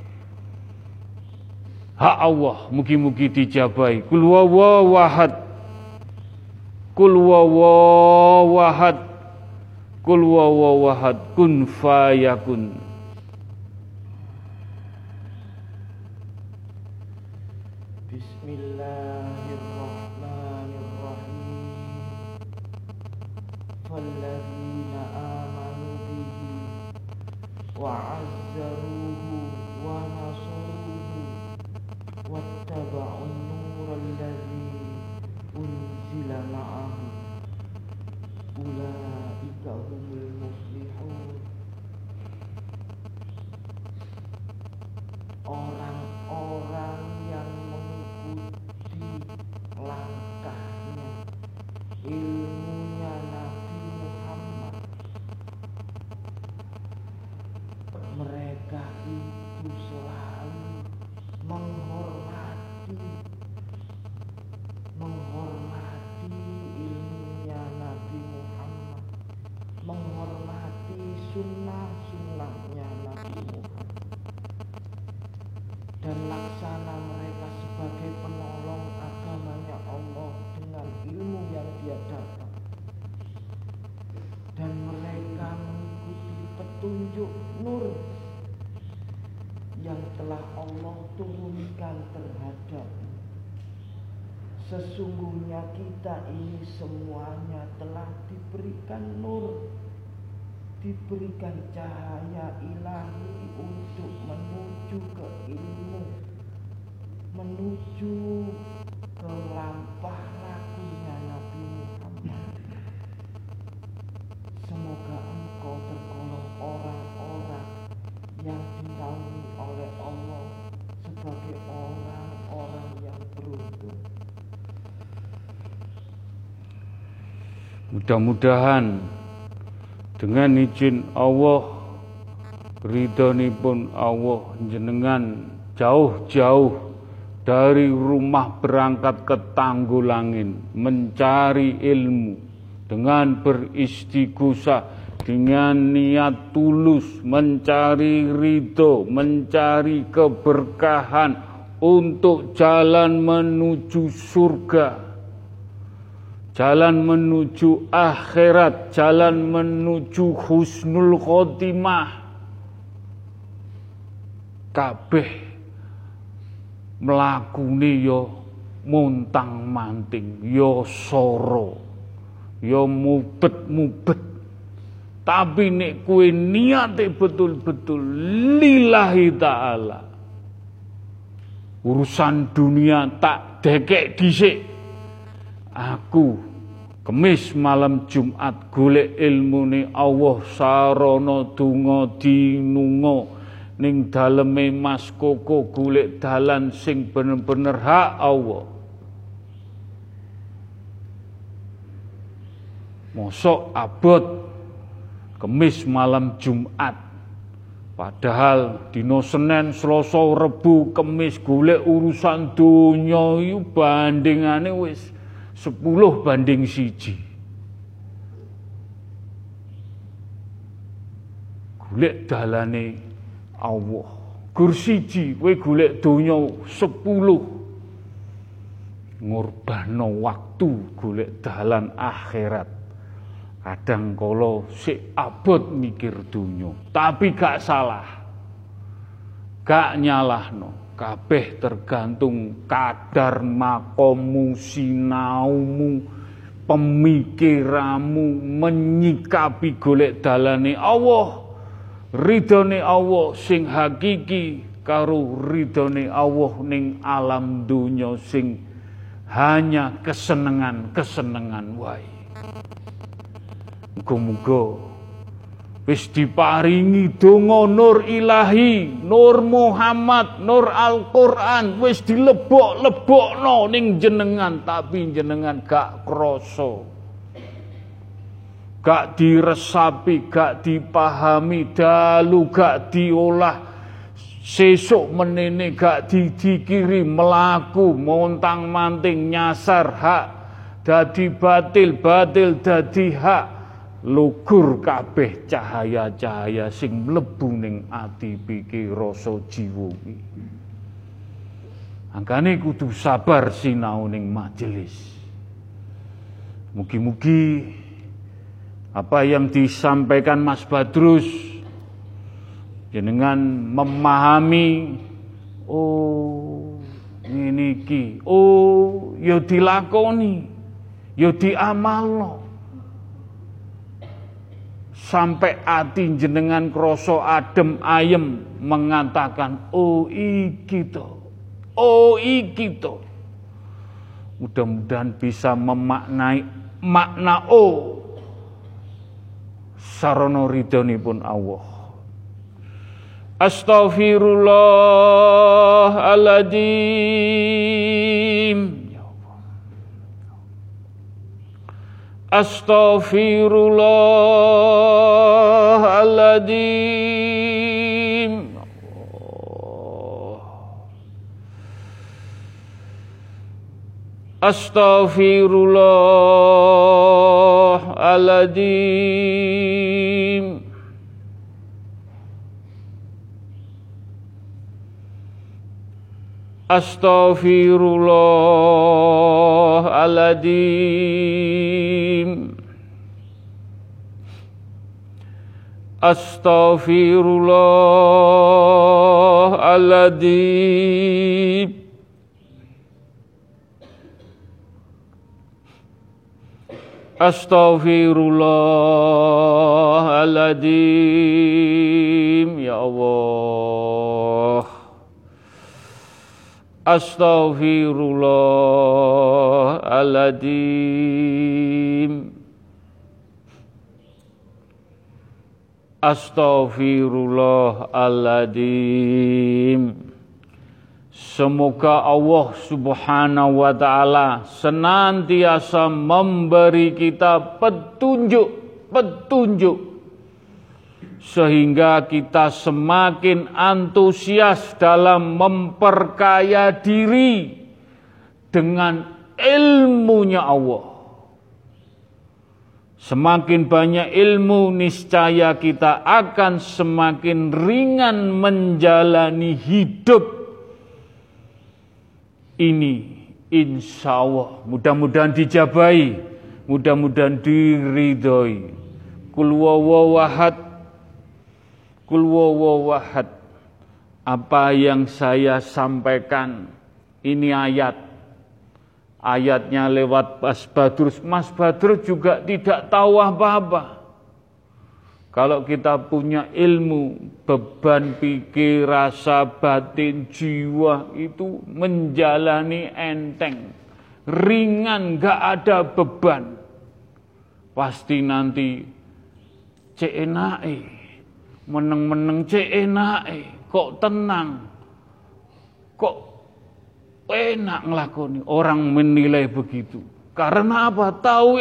Hak Allah mugi-mugi dijabahi. Kul huwallahu ahad. Kul huwallahu ahad. Kul huwallahu ahad. Kun fayakun. Bismillahirrahmanirrahim. Falladzina amanu bihi wa 'azzaruhu wa nasaruhu wattaba'un nural ladzi unzila ma'ahu ulaika humul muflihun. Orang-orang yang mengikuti langkahnya, ilmunya Nabi Muhammad, mereka itu selalu menghormati ilmunya Nabi Muhammad, menghormati sunnah-sunnahnya Nabi Muhammad, dan laksana mereka sebagai penolong agamanya Allah dengan ilmu yang dia dapat. Dan mereka mengikuti petunjuk nur yang telah Allah turunkan terhadap. Sesungguhnya kita ini semuanya telah diberikan nur, diberikan cahaya ilahi untuk menuju ke ilmu, menuju ke lampah lakunya Nabi Muhammad. Semoga engkau tergolong orang-orang yang dinaungi oleh Allah sebagai orang-orang yang beruntung. Mudah-mudahan dengan izin Allah, ridhonipun Allah, jenengan jauh-jauh dari rumah berangkat ke Tanggulangin mencari ilmu dengan beristighosah, dengan niat tulus mencari ridho, mencari keberkahan untuk jalan menuju surga, jalan menuju akhirat, jalan menuju husnul khotimah. Kabeh mlakune yo montang-manting, yo soro, yo mubet-mubet. Tapi nek kowe niate betul-betul lillahi ta'ala, urusan dunia tak dekek dhisik. Aku Kemis malam Jumat golek ilmune Allah sarana donga dinunga ning daleme Mas Koko, golek dalan sing bener-bener hak Allah. Mosok abot Kemis malam Jumat, padahal dino Senin, Selasa, Rebu, Kemis golek urusan donya iku bandingane wis 10 banding 1. Golek dalane Allah. Gur siji kowe golek donya 10. Ngorbano waktu golek dalan akhirat. Kadang kala sik abot mikir donya, tapi gak salah. Gak nyalahno. Kabeh tergantung kadar makomu, sinaumu, pemikiranmu menyikapi golek dalane Allah. ridhone Allah sing hakiki karo ridhone Allah ning alam dunya sing hanya kesenengan wae. Muga-muga wis diparingi donga nur ilahi, nur Muhammad, nur Al-Qur'an wis dilebok-lebokno ning jenengan, tapi jenengan gak krasa. Gak diresapi, gak dipahami, dalu gak diolah, sesuk menene gak didikiri, melaku, montang-manting, nyasar hak, dadi batil dadi hak, lugur kabeh cahaya-cahaya sing mlebu ning ati pikir rasa jiwa iki. Angkane kudu sabar sinau ning majelis. Mugi-mugi apa yang disampaikan Mas Badrus jenengan memahami, oh ngene iki, oh ya dilakoni, ya diamalno. Sampai ati jenengan krasa adem ayem mengatakan, oh iki to, oh iki to. Mudah-mudahan bisa memaknai makna sarana ridhonipun Allah. Astaghfirullahaladzim. Ya Allah. Astaghfirullahaladzim. Astaghfirullahaladzim. Astaghfirullahaladzim. Astaghfirullahaladzim. Astaghfirullahaladzim. Ya Allah. Astaghfirullahaladzim. Astaghfirullahaladzim. Semoga Allah Subhanahu wa ta'ala senantiasa memberi kita petunjuk sehingga kita semakin antusias dalam memperkaya diri dengan ilmunya Allah. Semakin banyak ilmu, niscaya kita akan semakin ringan menjalani hidup ini, insya Allah. Mudah-mudahan dijabahi, mudah-mudahan diridhoi. Kul huwallahu ahad. Apa yang saya sampaikan ini ayatnya lewat Mas Badrus. Mas Badrus juga tidak tahu apa-apa. Kalau kita punya ilmu, beban pikir, rasa batin, jiwa itu menjalani enteng, ringan, gak ada beban. Pasti nanti cek enake, meneng-meneng cek enake, kok tenang, kok enak ngelakoni. Orang menilai begitu. Karena apa? Tahu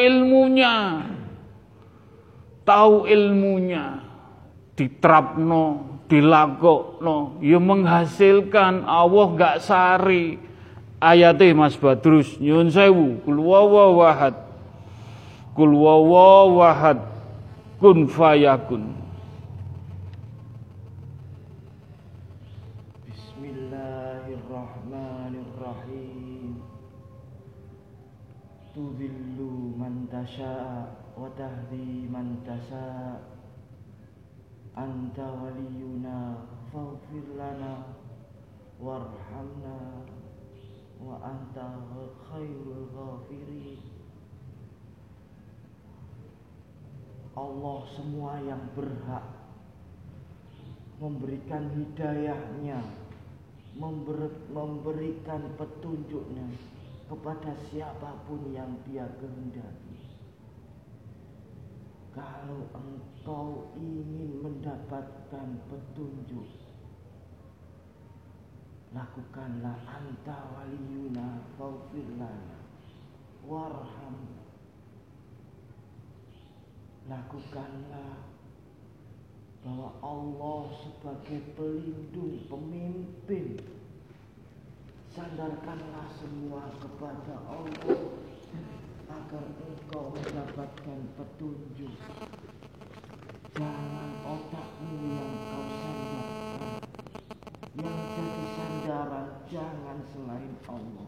ilmunya, diterapno, dilakokno, ya menghasilkan. Allah gak sari. Ayate Mas Badrus, nyun sewu, kul huwallahu ahad, kul huwallahu ahad, kun fayakun. Bismillahirrahmanirrahim. Tudhillu man tasha' wa tahdi man tasha'. Anta waliyuna faghfir lana warhamna wa anta khairul ghafirin. Allah semua yang berhak memberikan hidayahnya, memberikan petunjuknya kepada siapapun yang Dia kehendaki. Kalau engkau ingin mendapatkan petunjuk, lakukanlah anta waliyuna faghfir lana warham. Lakukanlah bahwa Allah sebagai pelindung, pemimpin. Sandarkanlah semua kepada Allah agar engkau mendapatkan petunjuk. Jangan otakmu yang kau sandarkan. Yang jadi sandaran jangan selain Allah.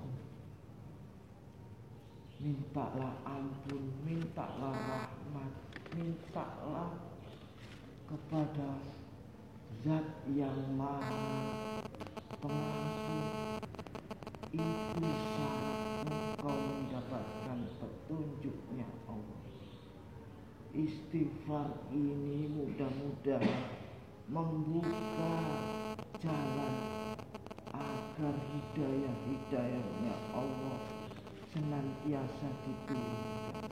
Mintalah ampun, mintalah rahmat, mintalah kepada Zat yang Maha Pengampun. Itu syarat engkau mendapatkan petunjuknya Allah. Istighfar ini mudah-mudahan membuka jalan agar hidayah-hidayahnya Allah senantiasa diturunkan.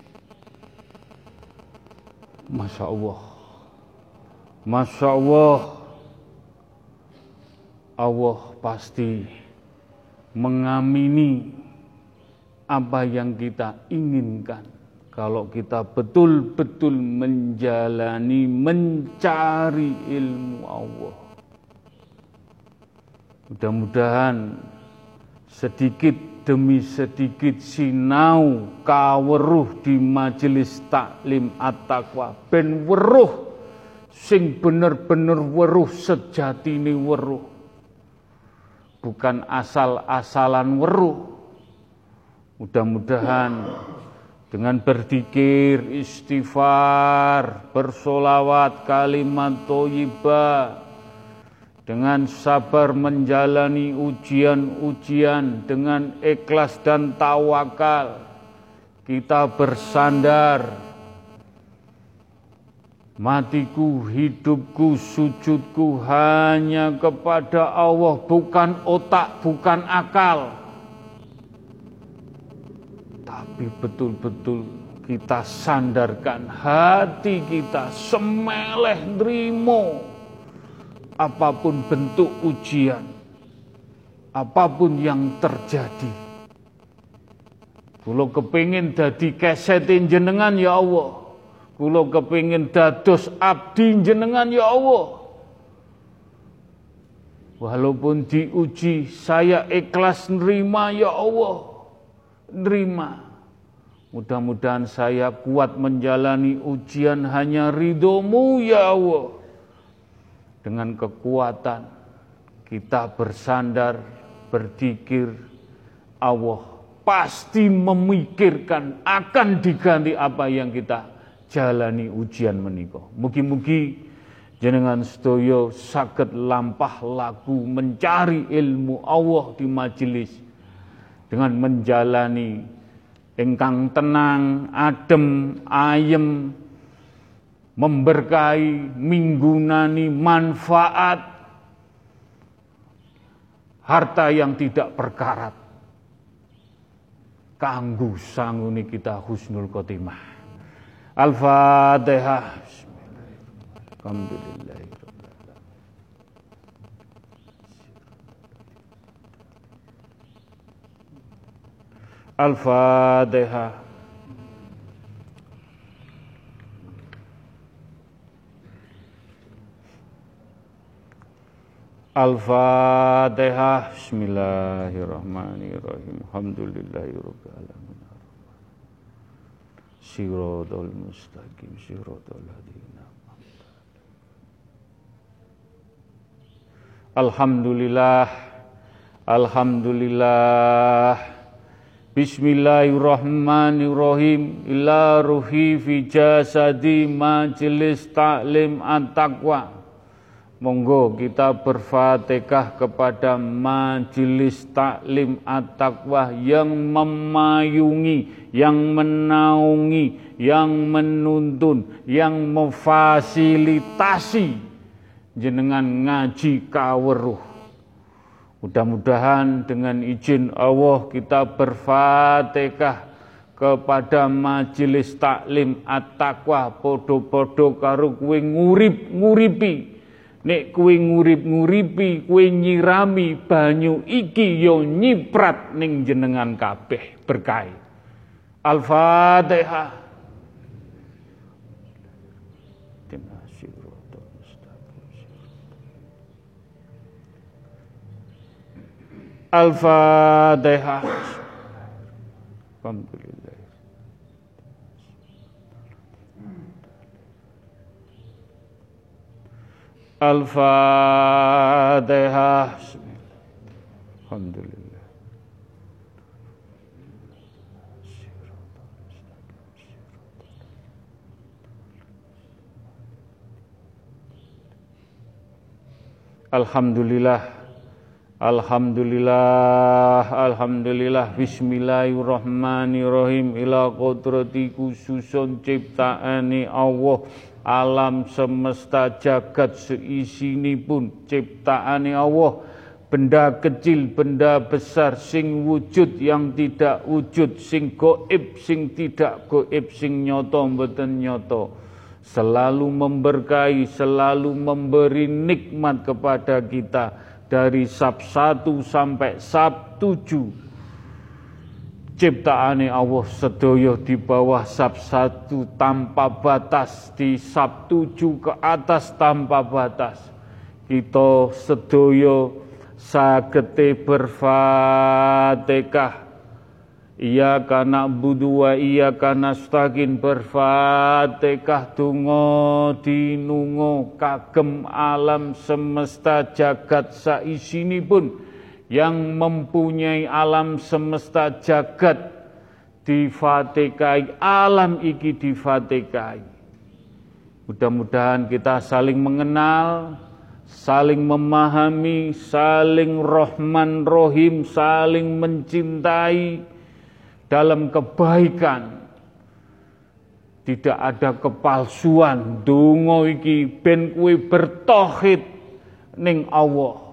Masya Allah, Masya Allah, Allah pasti mengamini apa yang kita inginkan kalau kita betul-betul menjalani, mencari ilmu Allah. Mudah-mudahan sedikit demi sedikit sinau kaweruh di majelis taklim at-taqwa ben weruh sing bener-bener weruh sejatine weruh. Bukan asal-asalan weruh. Mudah-mudahan dengan berzikir, istighfar, bersolawat, kalimat thayyibah, dengan sabar menjalani ujian-ujian, dengan ikhlas dan tawakal, kita bersandar. Matiku, hidupku, sujudku hanya kepada Allah, bukan otak, bukan akal. Tapi betul-betul kita sandarkan hati kita, semeleh nrimo apapun bentuk ujian, apapun yang terjadi. Kula kepingin dadi kesetin jenengan ya Allah. Kula kepingin dados abdi jenengan ya Allah. Walaupun diuji, saya ikhlas nerima ya Allah. Nerima. Mudah-mudahan saya kuat menjalani ujian hanya ridho-Mu ya Allah. Dengan kekuatan kita bersandar, berzikir, Allah pasti memikirkan akan diganti apa yang kita jalani ujian menika. Mugi-mugi jenengan sedaya saged lampah laku mencari ilmu Allah di majelis dengan menjalani ingkang tenang, adem, ayem, memberkahi, minggunani manfaat, harta yang tidak perkarat. Kanggo sanguni kita husnul khotimah. Al-Fatihah. Alhamdulillahirrahmanirrahim. Al-Fatihah. Al-Fatihah. Bismillahirrahmanirrahim. Alhamdulillahirabbil alamin. Siratal mustaqim, siratal ladzina an'amta alaihim. Alhamdulillah. Alhamdulillah. Bismillahirrahmanirrahim. Ila ruhi fi jasadi majelis taklim at-taqwa. Monggo kita berfatihah kepada majelis taklim at-taqwa yang memayungi, yang menaungi, yang menuntun, yang memfasilitasi jenengan ngaji kaweruh. Mudah-mudahan dengan izin Allah kita berfatihah kepada majelis taklim at-taqwa podo-podo karo kuwi nguripi. Nek kuwi nguripi kuwi nyirami banyu iki yo nyiprat ning jenengan kabeh berkah. Al-Fatihah. Al-Fatihah. Alhamdulillah. Al-Fatihah. Alhamdulillah. Alhamdulillah. Alhamdulillah, alhamdulillah, bismillahirrahmanirrahim. Ila qudrati khususun ciptaane Allah, alam semesta jagat seisinipun ciptaane Allah, benda kecil, benda besar, sing wujud yang tidak wujud, sing gaib, sing tidak gaib, sing nyata mboten nyata, selalu memberkahi, selalu memberi nikmat kepada kita. Dari Sab 1 sampai Sab 7 ciptaane Allah sedaya di bawah Sab 1 tanpa batas, di Sab 7 ke atas tanpa batas. Kita sedaya sagete berfatihah. Iyyaka na'budu wa iyyaka nasta'in, berfatihah donga dinunga kagem alam semesta jagat saisinipun, yang mempunyai alam semesta jagat difatikai, alam iki difatikai. Mudah-mudahan kita saling mengenal, saling memahami, saling rahman rohim, saling mencintai dalam kebaikan. Tidak ada kepalsuan. Donga iki ben kuwi bertauhid ning Allah,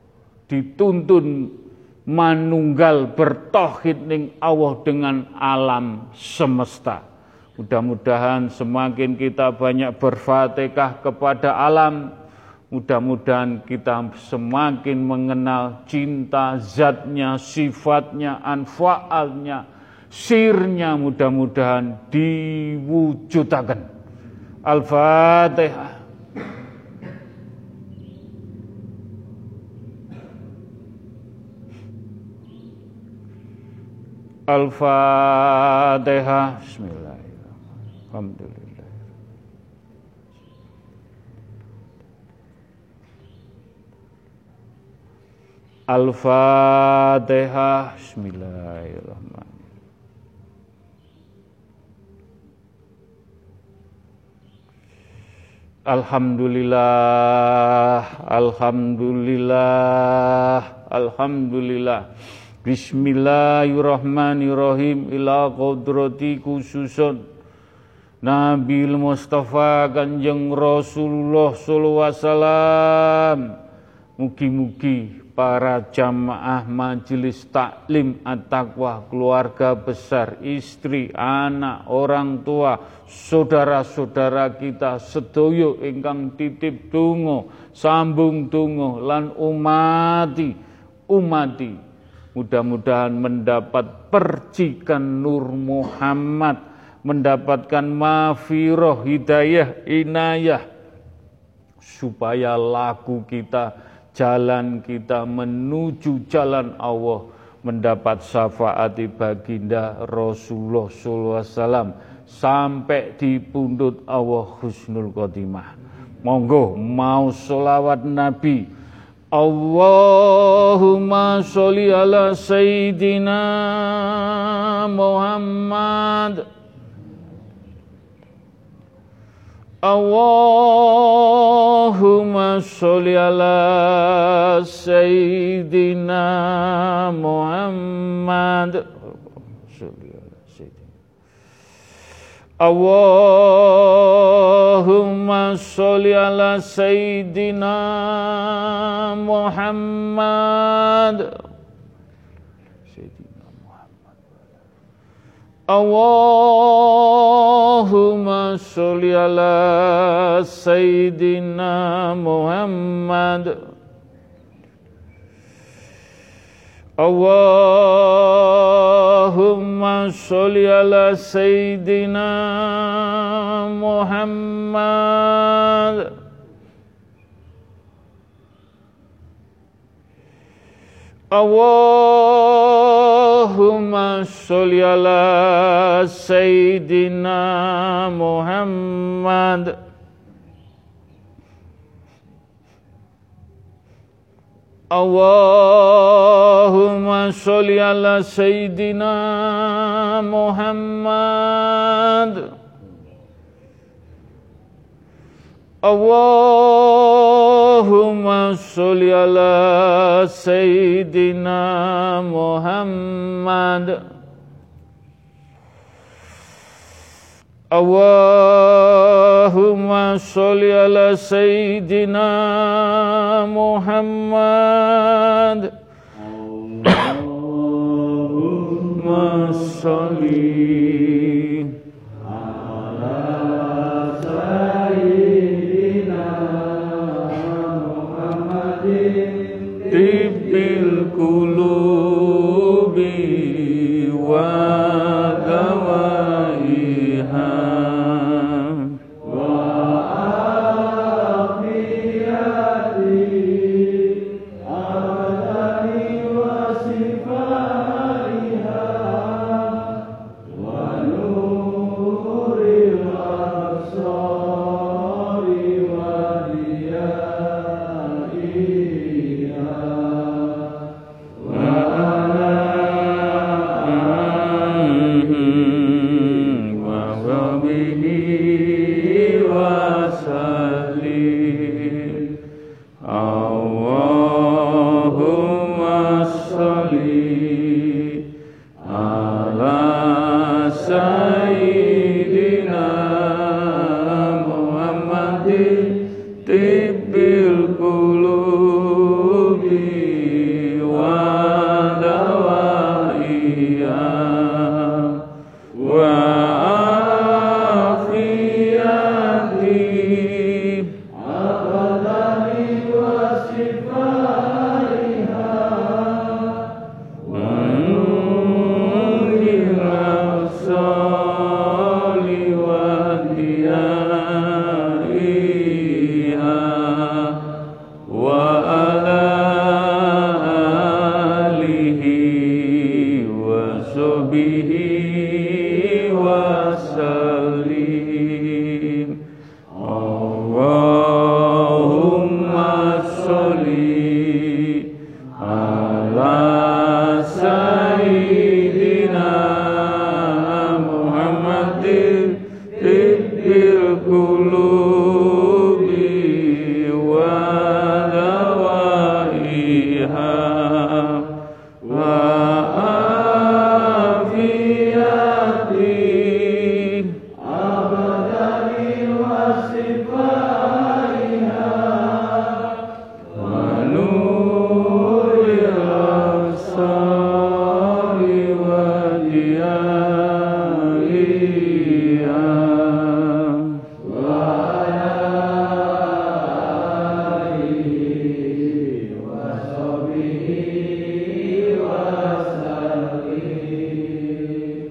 dituntun manunggal bertauhid ning Allah dengan alam semesta. Mudah-mudahan semakin kita banyak berfatihah kepada alam, mudah-mudahan kita semakin mengenal cinta zatnya, sifatnya, anfaalnya, sirnya, mudah-mudahan diwujudaken. Al-Fatihah. Al-Fatihah. Bismillahirrahmanirrahim. Alhamdulillah. Al-Fatihah. Bismillahirrahmanirrahim. Alhamdulillah, alhamdulillah, alhamdulillah. Bismillahirrahmanirrahim. Ila qudrati khususun Nabil Mustafa Kanjeng Rasulullah sallallahu alaihi wasallam. Mugi-mugi para jamaah majelis taklim at-taqwa, keluarga besar, istri, anak, orang tua, saudara-saudara kita sedaya ingkang titip donga, sambung donga lan umati, mudah-mudahan mendapat percikan Nur Muhammad, mendapatkan maghfirah, hidayah, inayah, supaya laku kita, jalan kita menuju jalan Allah mendapat syafaat baginda Rasulullah sallallahu alaihi wasallam sampai di pundut Allah husnul khotimah. Monggo mau sholawat Nabi. Allahumma sholli ala Sayyidina Muhammad. Allahumma sholli ala Sayyidina Muhammad. Allahumma sholli ala Sayyidina Muhammad. Allahumma sholli ala Sayyidina Muhammad. Allahumma sholli ala Sayyidina Muhammad. Allahumma sholli ala Sayyidina Muhammad. Allahumma sholli ala Sayyidina Muhammad. Allahumma sholli ala Sayyidina Muhammad. Allahumma sholli ala Sayyidina Muhammad. Allahumma sholli ala Sayyidina Muhammadin tibbil qulubi wa dawaiha wa afiyati abadani wa sifaiha wa nuril absari wa diyaiha wa ala wa sahbihi wa sallim. Allahumma sholli ala Sayyidina Muhammadin tibbil qulubi wa dawaiha wa afiyati abadani wa sifaiha wa nuril absari wa diyaiha wa ala alihi wa sahbihi wa sallim. Allahumma sholli ala Sayyidina Muhammadin tibbil qulubi wa dawaiha wa afiyati abadani wa sifaiha wa nuril absari wa diyaiha wa alihi wa sahbihi wa sallim.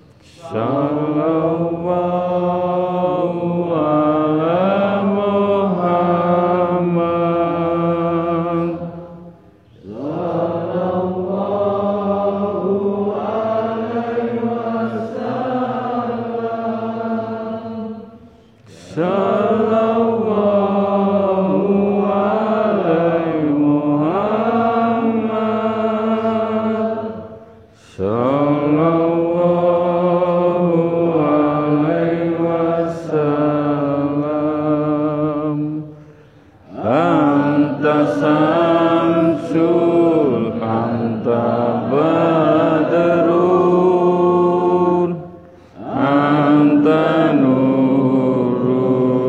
Sallallahu ala Muhammad. Sallallahu alaihi wasallam. Sallallahu alaihi Muhammad. Sallallahu alaihi wasallam. Anta samsul anta badrun anta nurun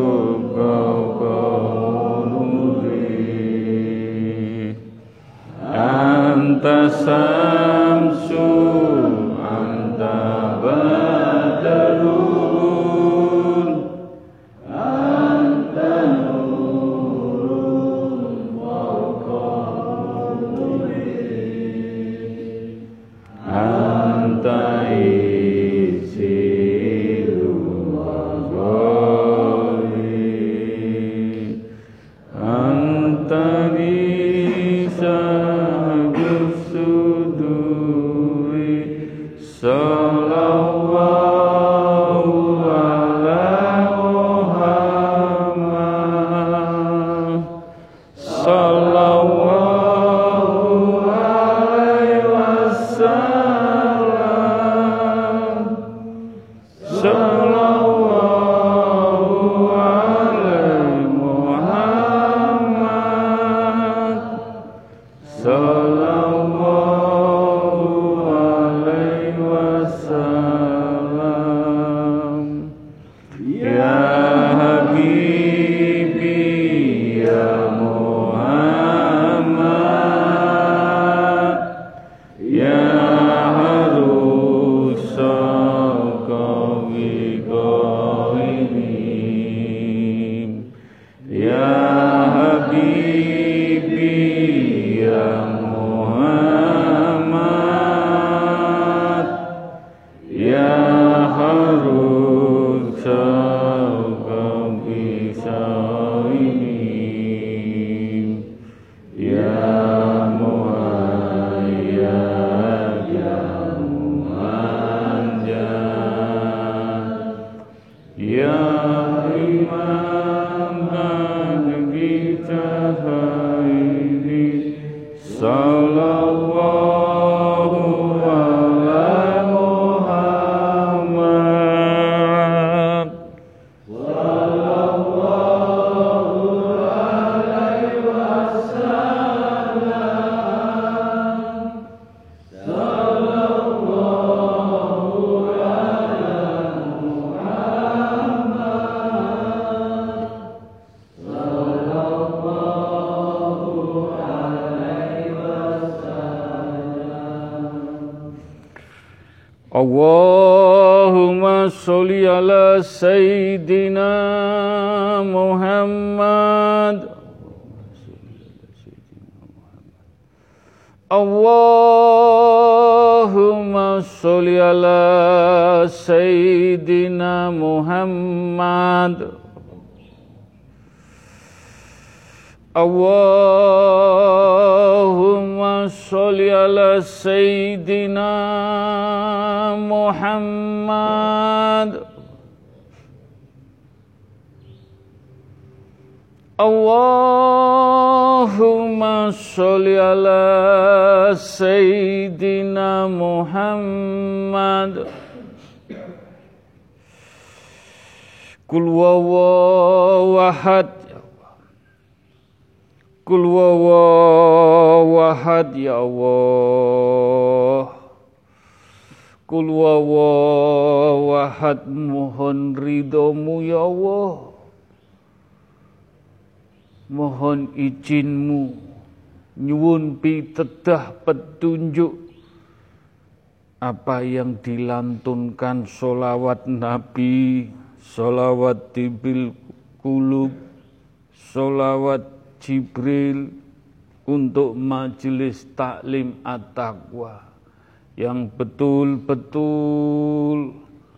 Sallallahu alaihi Muhammad. Sallallahu alaihi wasallam. Ya Habibi ya Muhammad, ya harusal qawi qaimin, ya Habibi ya Muhammad, ya harusal qawi qaimin, ya muhayyad ya mumanjad, ya imam bagi cahaya. Sallallahu alaihi Muhammad. Allahumma sholli ala Sayyidina Muhammad. Allahumma sholli ala Sayyidina Muhammad. Allahumma sholli ala Sayyidina Muhammad. Allahumma sholli ala Sayyidina Muhammad. Qul huwallahu ahad. Qul huwallahu ahad ya Allah. Qul huwallahu ahad, mohon ridhomu ya Allah. Mohon izinmu, nyuwun pitedah petunjuk apa yang dilantunkan sholawat Nabi, sholawat tibil kulub, sholawat Jibril untuk majelis taklim at-taqwa yang betul-betul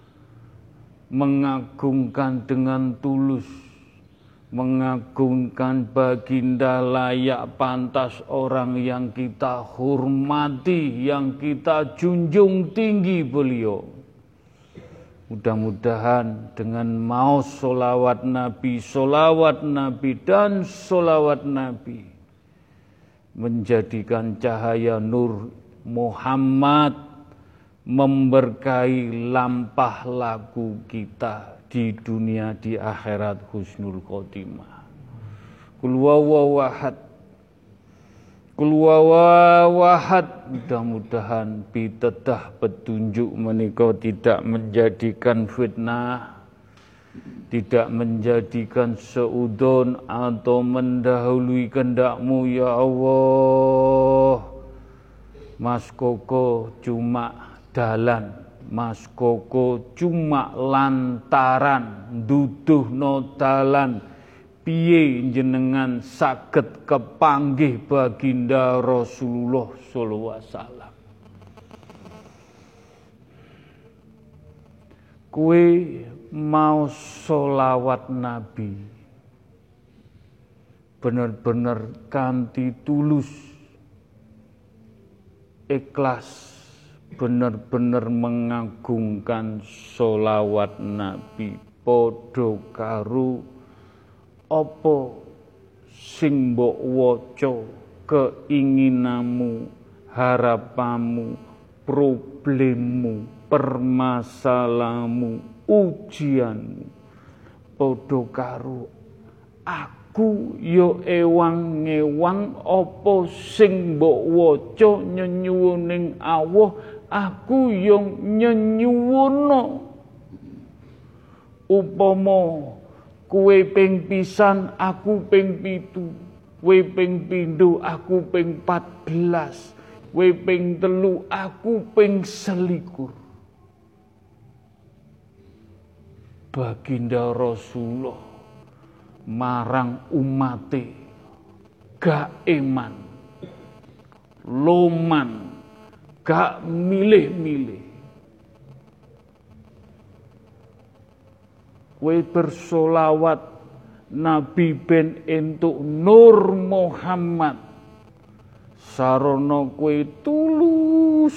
mengagungkan dengan tulus, mengagungkan baginda layak pantas orang yang kita hormati, yang kita junjung tinggi beliau. Mudah-mudahan dengan mau sholawat Nabi, dan sholawat Nabi menjadikan cahaya nur Muhammad memberkahi lampah laku kita di dunia, di akhirat husnul khotimah. Qul huwallahu ahad. Qul huwallahu ahad. Mudah-mudahan pitedah petunjuk menika tidak menjadikan fitnah, tidak menjadikan seudon atau mendahului kehendak-Mu ya Allah. Mas Koko cuma dalan, Mas Koko cuma lantaran duduhno dalan, piye jenengan saged kepanggih baginda Rasulullah sallallahu alaihi wasallam. Kowe mau sholawat Nabi bener-bener kanthi tulus, ikhlas, bener-bener mengagungkan sholawat Nabi, padha karo apa sing mbok waca, keinginanmu, harapanmu, problemmu, permasalahanmu, ujianmu. Padha karo aku ya ewang-ewang apa sing mbok waca nyenyuwuning Allah, aku ya nyenyuwuna. Upama kowe ping pisan, aku ping 7, kowe ping pindho, aku ping 14, kowe ping 3, aku ping 21. Baginda Rasulullah marang umate gak eman, loman, gak milih-milih. Kowe bersolawat Nabi ben entuk Nur Muhammad, sarana kowe tulus,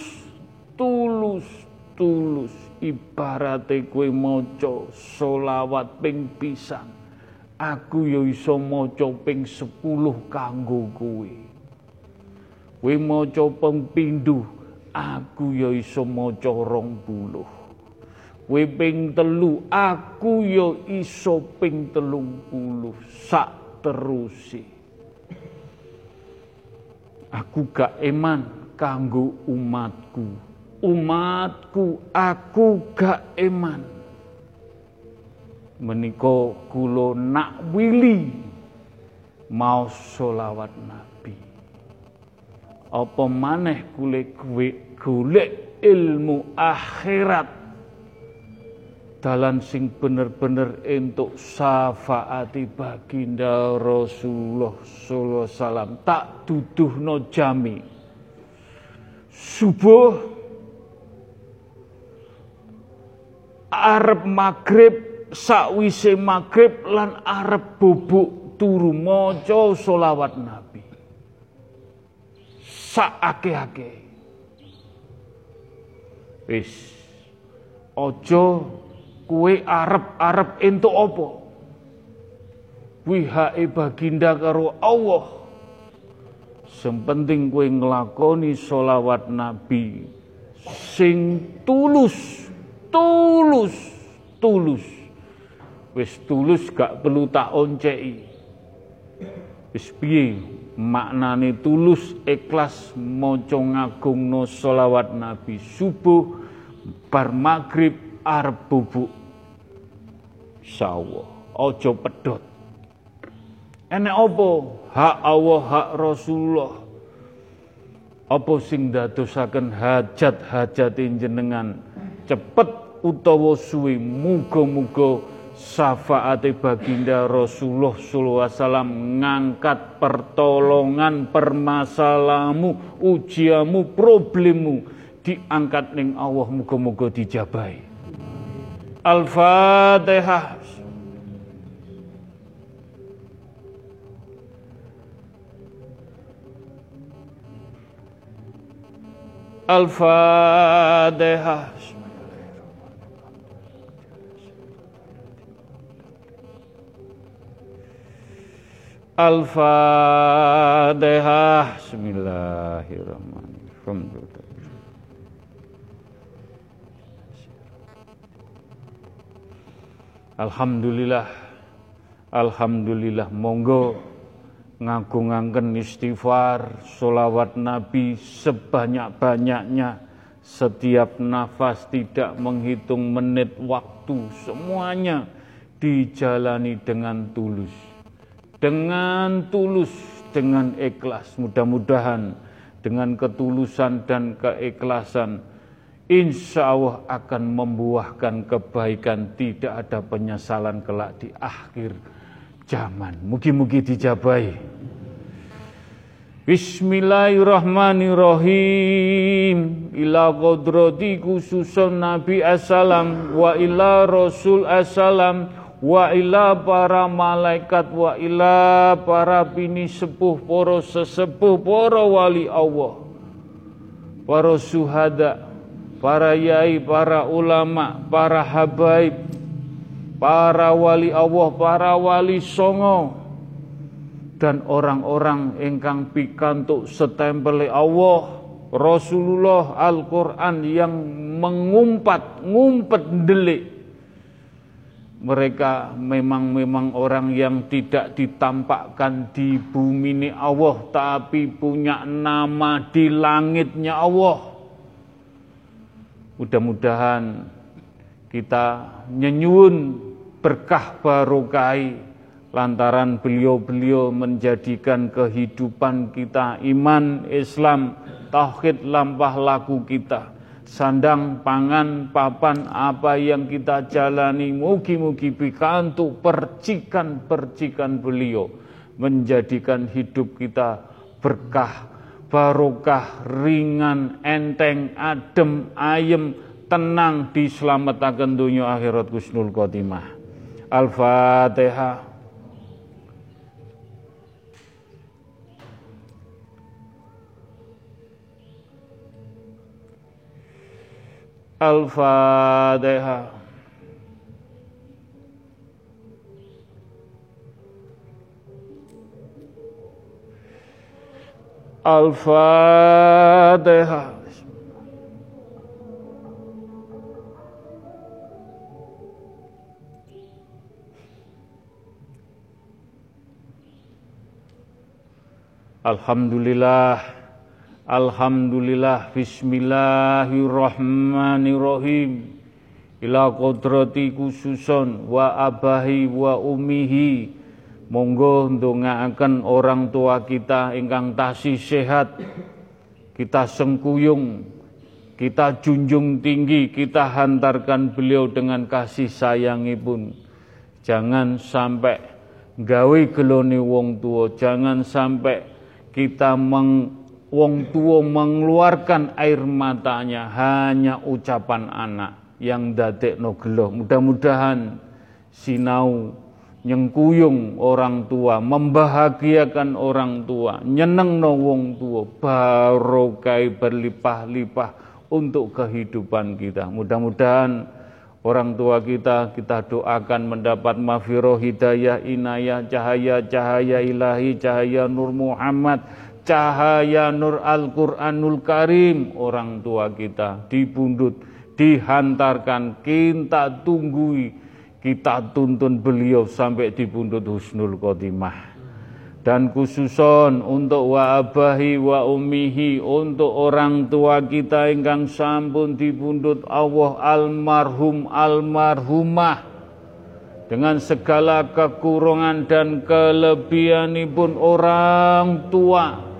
ibarate kowe maca solawat ping pisan, aku ya iso maca ping 10 kanggo kowe. Kowe maca ping pindho, aku ya iso maca 20. Kowe ping 3, aku ya iso ping 30, sak teruse. Aku gak eman kanggo umatku. Aku gak eman. Menika kula nak wili mau solawat Nabi. Apa maneh golek ilmu akhirat, dalan sing bener-bener entuk syafaati baginda Rasulullah sallallahu alaihi wasallam. Tak duduhno jami subuh, arep maghrib, sakwise maghrib lan arep bubuk turu maca selawat Nabi sak akeh-akeh. Wis aja kowe arep entuk apa? Kuwi hake baginda karo Allah. Sempenting kowe nglakoni selawat Nabi sing tulus. Wis tulus gak perlu tak onceki. Wis piye maknane tulus, ikhlas maca ngagungno selawat Nabi subuh, bar maghrib, arep bubuk. Insyaallah aja pedhot. Enek apa? Hak Allah, hak Rasulullah. Apa sing dadosaken hajat-hajate jenengan cepet utawa suwe, muga-muga syafaate baginda Rasulullah sallallahu alaihi wasallam ngangkat pertolongan permasalahanmu, ujiamu, problemmu diangkat ning Allah, muga-muga dijabahi. Al-Fatihah. Al-Fatihah. Al-Fatihah. Bismillahirrahmanirrahim. Alhamdulillah. Alhamdulillah. Monggo ngagungaken istighfar, sholawat Nabi sebanyak-banyaknya, setiap nafas, tidak menghitung menit waktu, semuanya dijalani dengan tulus, dengan ikhlas. Mudah-mudahan dengan ketulusan dan keikhlasan, insya Allah akan membuahkan kebaikan, tidak ada penyesalan kelak di akhir zaman. Mugi-mugi dijabahi. Bismillahirrahmanirrahim. Ila qadrati khususun Nabi assalam, wa ila Rasul assalam, wa ila para malaikat, wa ila para bini sepuh, para sesepuh, para wali Allah, para syuhada, para yai, para ulama, para habaib, para wali Allah, para wali songo, dan orang-orang ingkang pikantuk setempel Allah, Rasulullah, Al-Quran yang ngumpet ndelik mereka memang orang yang tidak ditampakkan di bumi ini Allah, tapi punya nama di langitnya Allah. Mudah-mudahan kita nyenyun berkah barokai lantaran beliau-beliau menjadikan kehidupan kita iman, Islam, tauhid lampah laku kita. Sandang, pangan, papan, apa yang kita jalani, mugi-mugi pikantuk percikan-percikan beliau menjadikan hidup kita berkah, barokah, ringan, enteng, adem, ayem, tenang, diselamatkan dunia akhirat husnul khotimah. Al-Fatihah. Al-Fatihah. Al-Fatihah. Alhamdulillah. Alhamdulillah, bismillahirrahmanirrahim. Ila kodrati khususon wa abahi wa umihi. Monggo ndongaaken orang tua kita ingkang tasih sehat. Kita sengkuyung, kita junjung tinggi, kita hantarkan beliau dengan kasih sayangipun. Jangan sampai gawe gelone wong tua, jangan sampai kita wong tua mengeluarkan air matanya hanya ucapan anak yang dadekno gelo. Mudah-mudahan sinau nyengkuyung orang tua, membahagiakan orang tua, nyenengno wong tua, barokah berlimpah-limpah untuk kehidupan kita. Mudah-mudahan orang tua kita doakan mendapat maghfirah, hidayah, inayah, cahaya ilahi, cahaya nur Muhammad, cahaya nur Al-Quranul Karim. Orang tua kita dibundut, dihantarkan, kita tunggui, kita tuntun beliau sampai dibundut husnul khotimah. Dan khususon untuk wa abahi wa ummihi, untuk orang tua kita ingkang sampun dibundut Allah, almarhum almarhumah, dengan segala kekurangan dan kelebihanipun orang tua.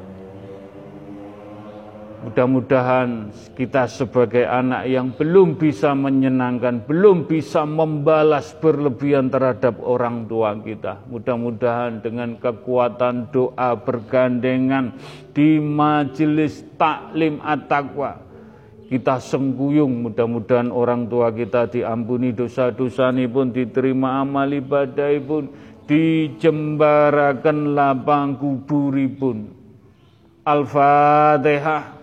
Mudah-mudahan kita sebagai anak yang belum bisa menyenangkan, belum bisa membalas berlebihan terhadap orang tua kita. Mudah-mudahan dengan kekuatan doa bergandengan di majelis taklim at-taqwa, kita sengkuyung, mudah-mudahan orang tua kita diampuni dosa-dosanipun, diterima amal ibadahipun, dijembaraken lapang kuburipun. Al-Fatihah.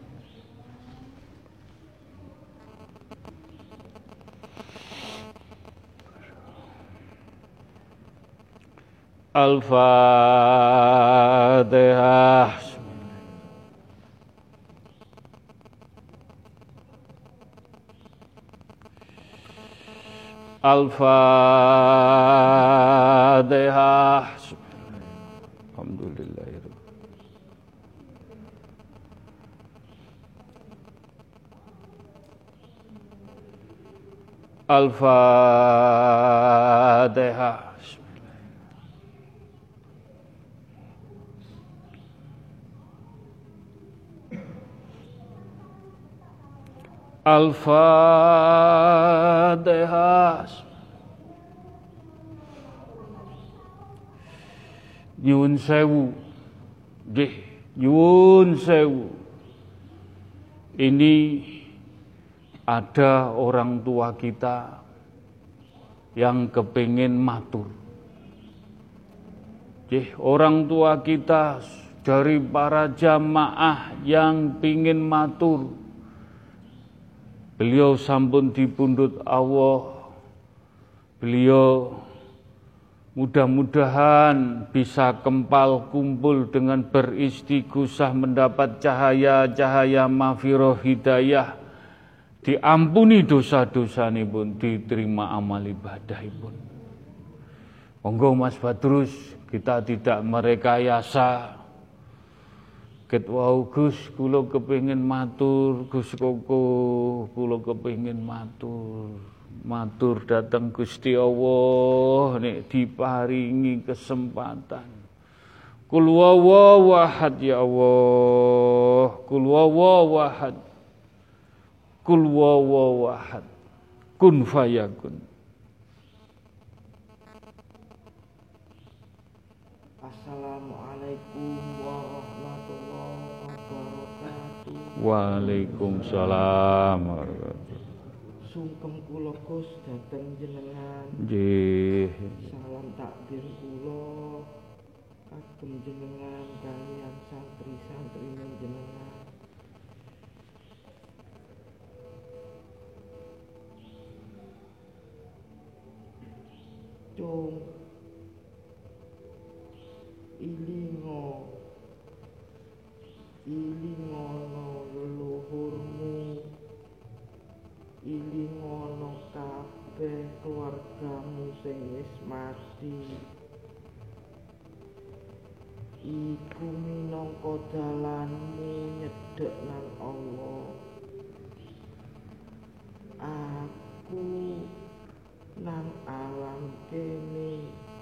Al-Fatihah. Al-Fatihah. Alhamdulillahirabbil Al-Fatihah. Al-Fatihah. Nyuwun sewu, nggih, nyuwun sewu. Ini ada orang tua kita yang kepingin matur. Nggih, orang tua kita dari para jamaah yang pingin matur. Beliau sampun dipundhut Allah. Beliau mudah-mudahan bisa kempal kumpul dengan beristighosah mendapat cahaya-cahaya maghfirah hidayah diampuni dosa-dosanipun, diterima amal ibadahipun. Monggo Mas Badrus, kita tidak merekayasa. Ket wau Gus, kula kepengin matur, Gus Koko, kula kepengin matur dateng Gusti Allah nek diparingi kesempatan. Kul huwallahu ahad ya Allah, kul huwallahu ahad, kul huwallahu ahad, kun fayakun. Assalamualaikum warahmatullahi wabarakatuh. Waalaikumsalam warahmatullahi. Sungkem kula Gus dhateng jenengan. Nggih. Salam takbir kula kagem jenengan kaliyan santri-santri jenengan. Cung ilingono leluhurmu, ilingono kabeh keluargamu sing wis mati. Iku minangka dalanmu nyedhek nang Allah. Aku nang alam kene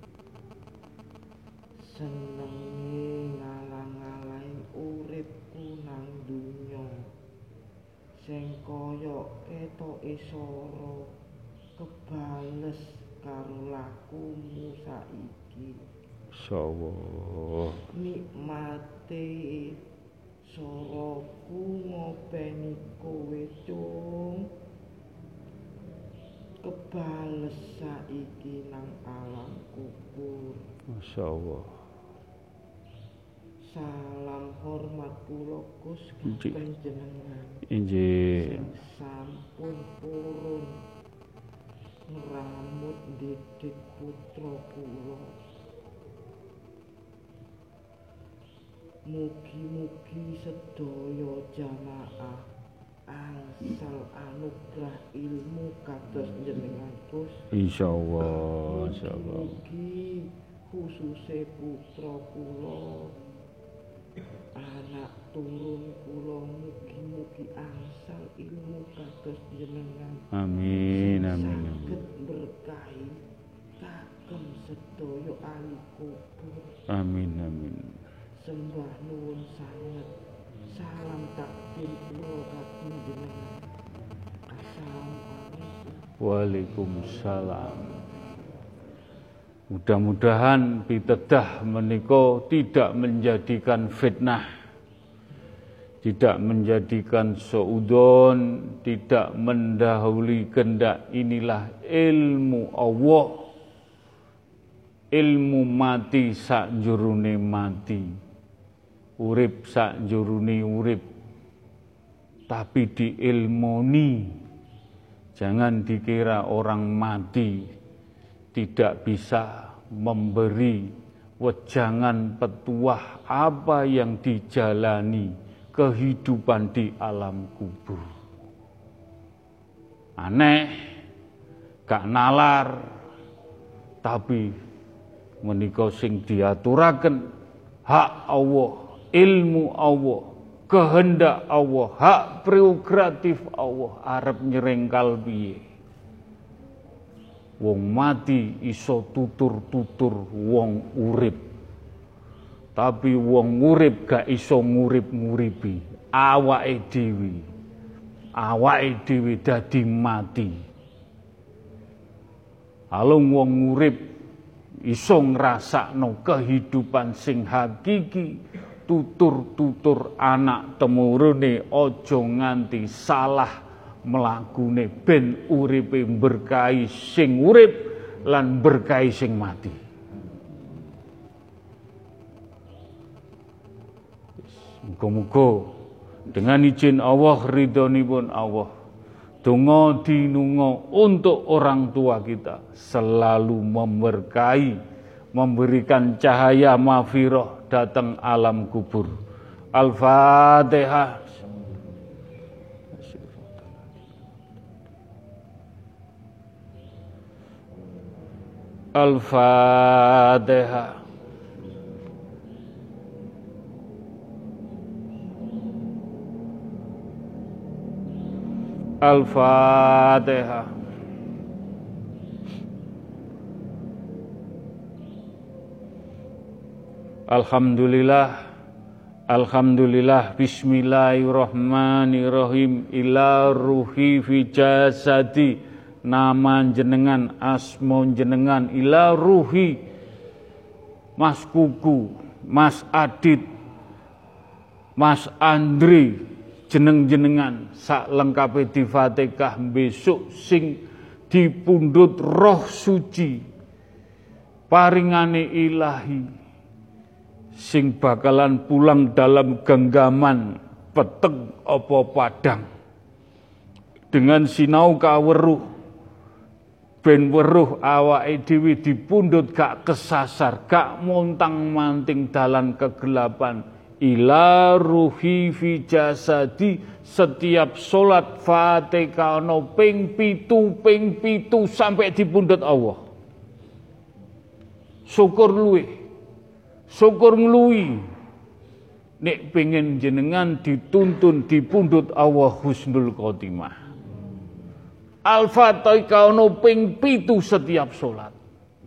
senenge ngalang-alang uripku nang dunya sing kaya ketoke sora kebales karo lakumu saiki. Insyaallah. Nikmate saraku ngopeni kowe cung, kebales saiki nang alam kubur. Masyaallah. Salam hormat kula Gus panjenengan. Injih. Sampun purun ngramut didik putra kula. Mugi-mugi sedaya jamaah angsal anugerah ilmu kados jenengan Gus. Insyaallah, insyaallah. Mugi khususe putra kula, anak turun kula, mugi-mugi angsal ilmu kados jenengan. Amin, amin. Saged berkahi kagem sedaya ahli kubur. Amin, amin. Sembah nuwun sanget. Salam takbir kula kagem jenengan. Assalamualaikum. Waalaikumsalam. Mudah-mudahan pitedah menika tidak menjadikan fitnah, tidak menjadikan suudon, tidak mendahului kehendak. Inilah ilmu Allah, ilmu mati sakjroning mati, urip sakjroning urip, tapi diilmoni. Jangan dikira orang mati tidak bisa memberi wejangan petuah apa yang dijalani kehidupan di alam kubur. Aneh, gak nalar, tapi menika sing diaturaken hak Allah, ilmu Allah, kehendak Allah, hak prerogatif Allah, arep nyerengkal piye. Wong mati iso tutur-tutur wong urip. Tapi wong urip gak iso ngurip-nguripi awake dhewe. Awake dhewe dadi mati. Alung wong urip iso ngrasakno kehidupan sing hakiki, tutur-tutur anak temurune aja nganti salah mlakune ben uripe berkahi sing urip lan berkahi sing mati. Muga-muga dengan izin Allah, ridhonipun Allah, donga dinunga untuk orang tua kita selalu memberkahi, memberikan cahaya mahfirah datang alam kubur. Al-Fatihah. Al-Fatihah. Al-Fatihah. Alhamdulillah. Alhamdulillah, bismillahirrahmanirrahim. Ila ruhi fi jasadi, nama jenengan, asmo jenengan. Ila ruhi, Mas Kuku, Mas Adit, Mas Andri, jeneng-jenengan sak lengkape di Fatihah besok sing dipundhut roh suci paringane ilahi, sing bakalan pulang dalam genggaman peteng apa padang dengan sinau kaweruh ben weruh awake dhewe dipundhut gak kesasar, gak montang-manting dalan kegelapan. Ila ruhi fi jasadi, setiap salat Fatihah ana ping 7 sampai dipundhut Allah. Syukur luwih, syukur ngluwi nek pengen jenengan dituntun dipundhut Allah husnul khotimah. Al-Fatihah ono ping 7 setiap salat.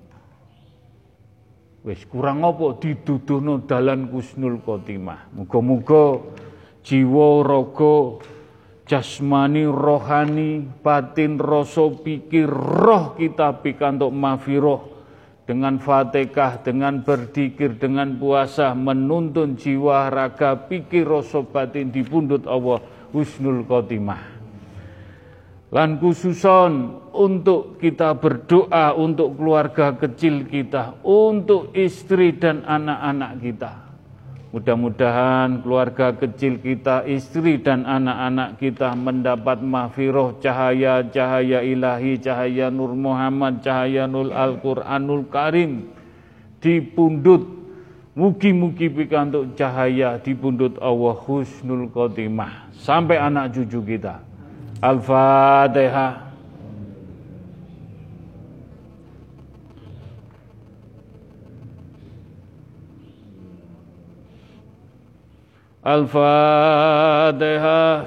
Wis kurang apa diduduhno dalan husnul khotimah. Muga-muga jiwa raga jasmani rohani batin rasa pikir roh kita pikantuk maghfirah dengan Fatihah, dengan berzikir, dengan puasa, menuntun jiwa, raga, pikir, rasa batin dipundhut Allah husnul khotimah. Lan khususon untuk kita berdoa untuk keluarga kecil kita, untuk istri dan anak-anak kita. Mudah-mudahan keluarga kecil kita, istri dan anak-anak kita mendapat maghfirah, cahaya-cahaya ilahi, cahaya Nur Muhammad, cahaya Nur Al-Quranul Karim dipundhut. Mugi-mugi pikantuk cahaya dipundhut Allah husnul khotimah sampai anak cucu kita. Al-Fatihah. Al-Fatihah.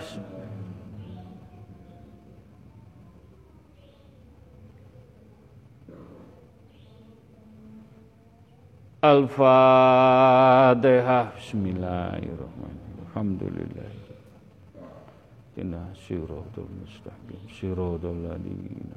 Al-Fatihah. Bismillahirrahmanirrahim. Alhamdulillah. Inna siratal mustaqim siratal ladzina.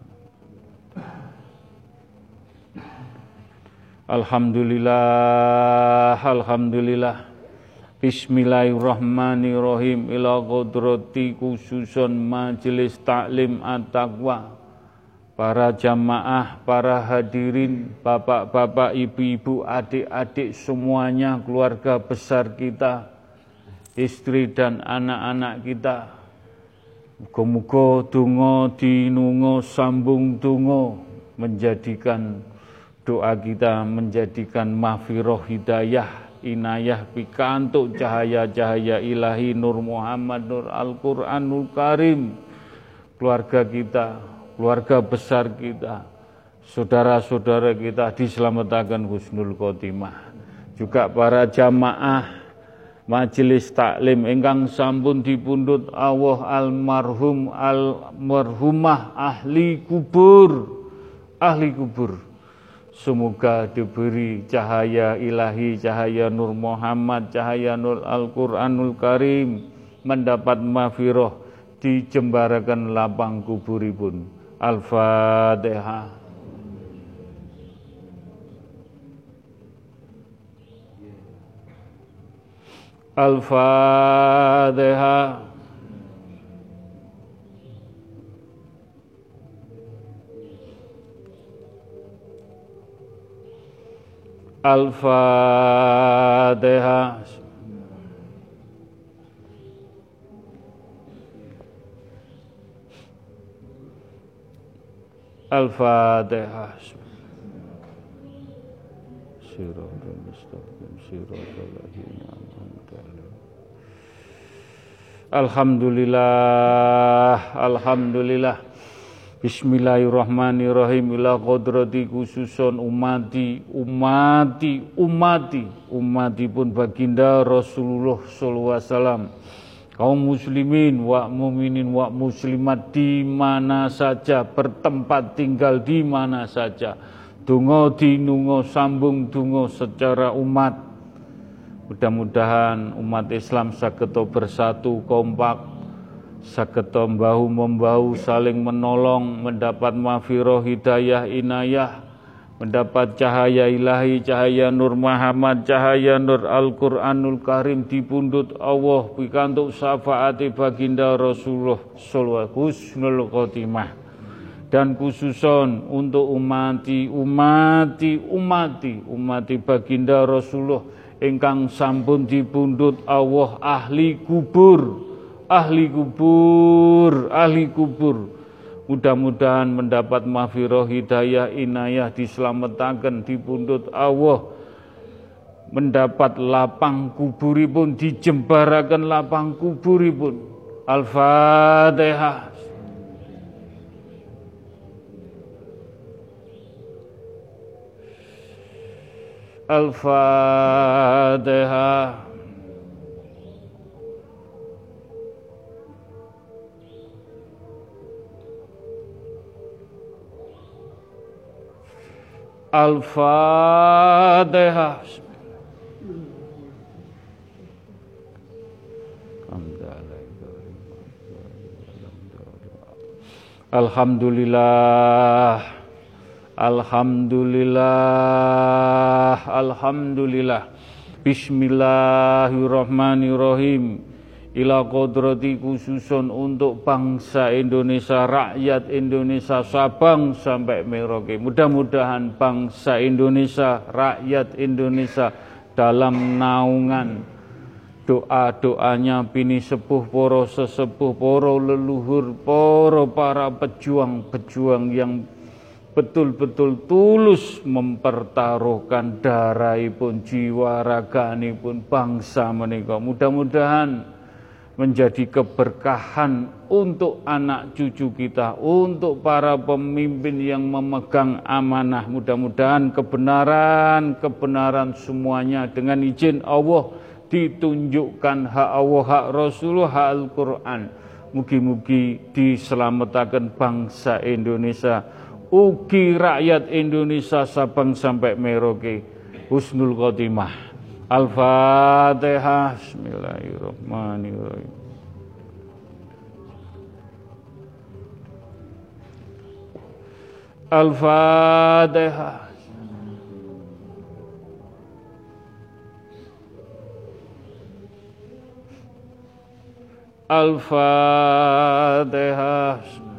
Alhamdulillah, alhamdulillah. Bismillahirrahmanirrahim. Ila qudrati khususon majelis taklim at-taqwa, para jamaah, para hadirin, bapak-bapak, ibu-ibu, adik-adik semuanya, keluarga besar kita, istri dan anak-anak kita. Muga-muga donga dinunga sambung donga menjadikan doa kita menjadikan maghfirah hidayah inayah pikantuk cahaya-cahaya ilahi Nur Muhammad Nur Al-Quranul Karim. Keluarga kita, keluarga besar kita, saudara-saudara kita diselamatkan husnul khotimah. Juga para jamaah majelis taklim ingkang sampun dipundhut Allah almarhumah ahli kubur. Semoga diberi cahaya ilahi, cahaya Nur Muhammad, cahaya Nur Al-Quranul Karim, mendapat maghfirah, dijembarakan lapang kuburipun. Al-Fatihah. Al-Fatihah. Al-Fatihah. Al-Fatihah. Siratal mustaqim siratal ladzina an'amta alaihim. Alhamdulillah, alhamdulillah. Bismillahirrahmanirrahim. Ila qadrati khususon umati pun baginda Rasulullah sallallahu alaihi wasallam. Kaum muslimin wa mukminin wa muslimat di mana saja, bertempat tinggal di mana saja. Donga dinunga sambung donga secara umat. Mudah-mudahan umat Islam saged bersatu kompak, saged membahu saling menolong, mendapat maghfirah hidayah inayah, mendapat cahaya ilahi, cahaya Nur Muhammad, cahaya Nur Al-Quranul Karim dipundhut Allah pikantuk syafaati baginda Rasulullah sallallahu husnul khotimah. Dan khususon untuk umati baginda Rasulullah ingkang sampun dipundhut Allah ahli kubur. Mudah-mudahan mendapat maghfirah hidayah inayah, dislametaken dipundhut Allah, mendapat lapang kuburipun, dijembaraken lapang kuburipun. Al-Fatihah. Al-Fatihah. Al-Fatihah. Alhamdulillah. Bismillahirrahmanirrahim. Ila qadrati khususon untuk bangsa Indonesia, rakyat Indonesia Sabang sampai Merauke. Mudah-mudahan bangsa Indonesia, rakyat Indonesia dalam naungan doa-doanya pini sepuh poro sesepuh poro leluhur poro para pejuang-pejuang yang betul-betul tulus mempertaruhkan darahipun, jiwa raganipun bangsa menika. Mudah-mudahan menjadi keberkahan untuk anak cucu kita, untuk para pemimpin yang memegang amanah. Mudah-mudahan kebenaran semuanya dengan izin Allah ditunjukkan hak Allah, hak Rasulullah, hak Al-Quran. Mugi-mugi diselamatkan bangsa Indonesia, ugi rakyat Indonesia Sabang sampai Merauke. Husnul khotimah. Al-Fatihah. Bismillahirrahmanirrahim. Al-Fatihah. Al-Fatihah.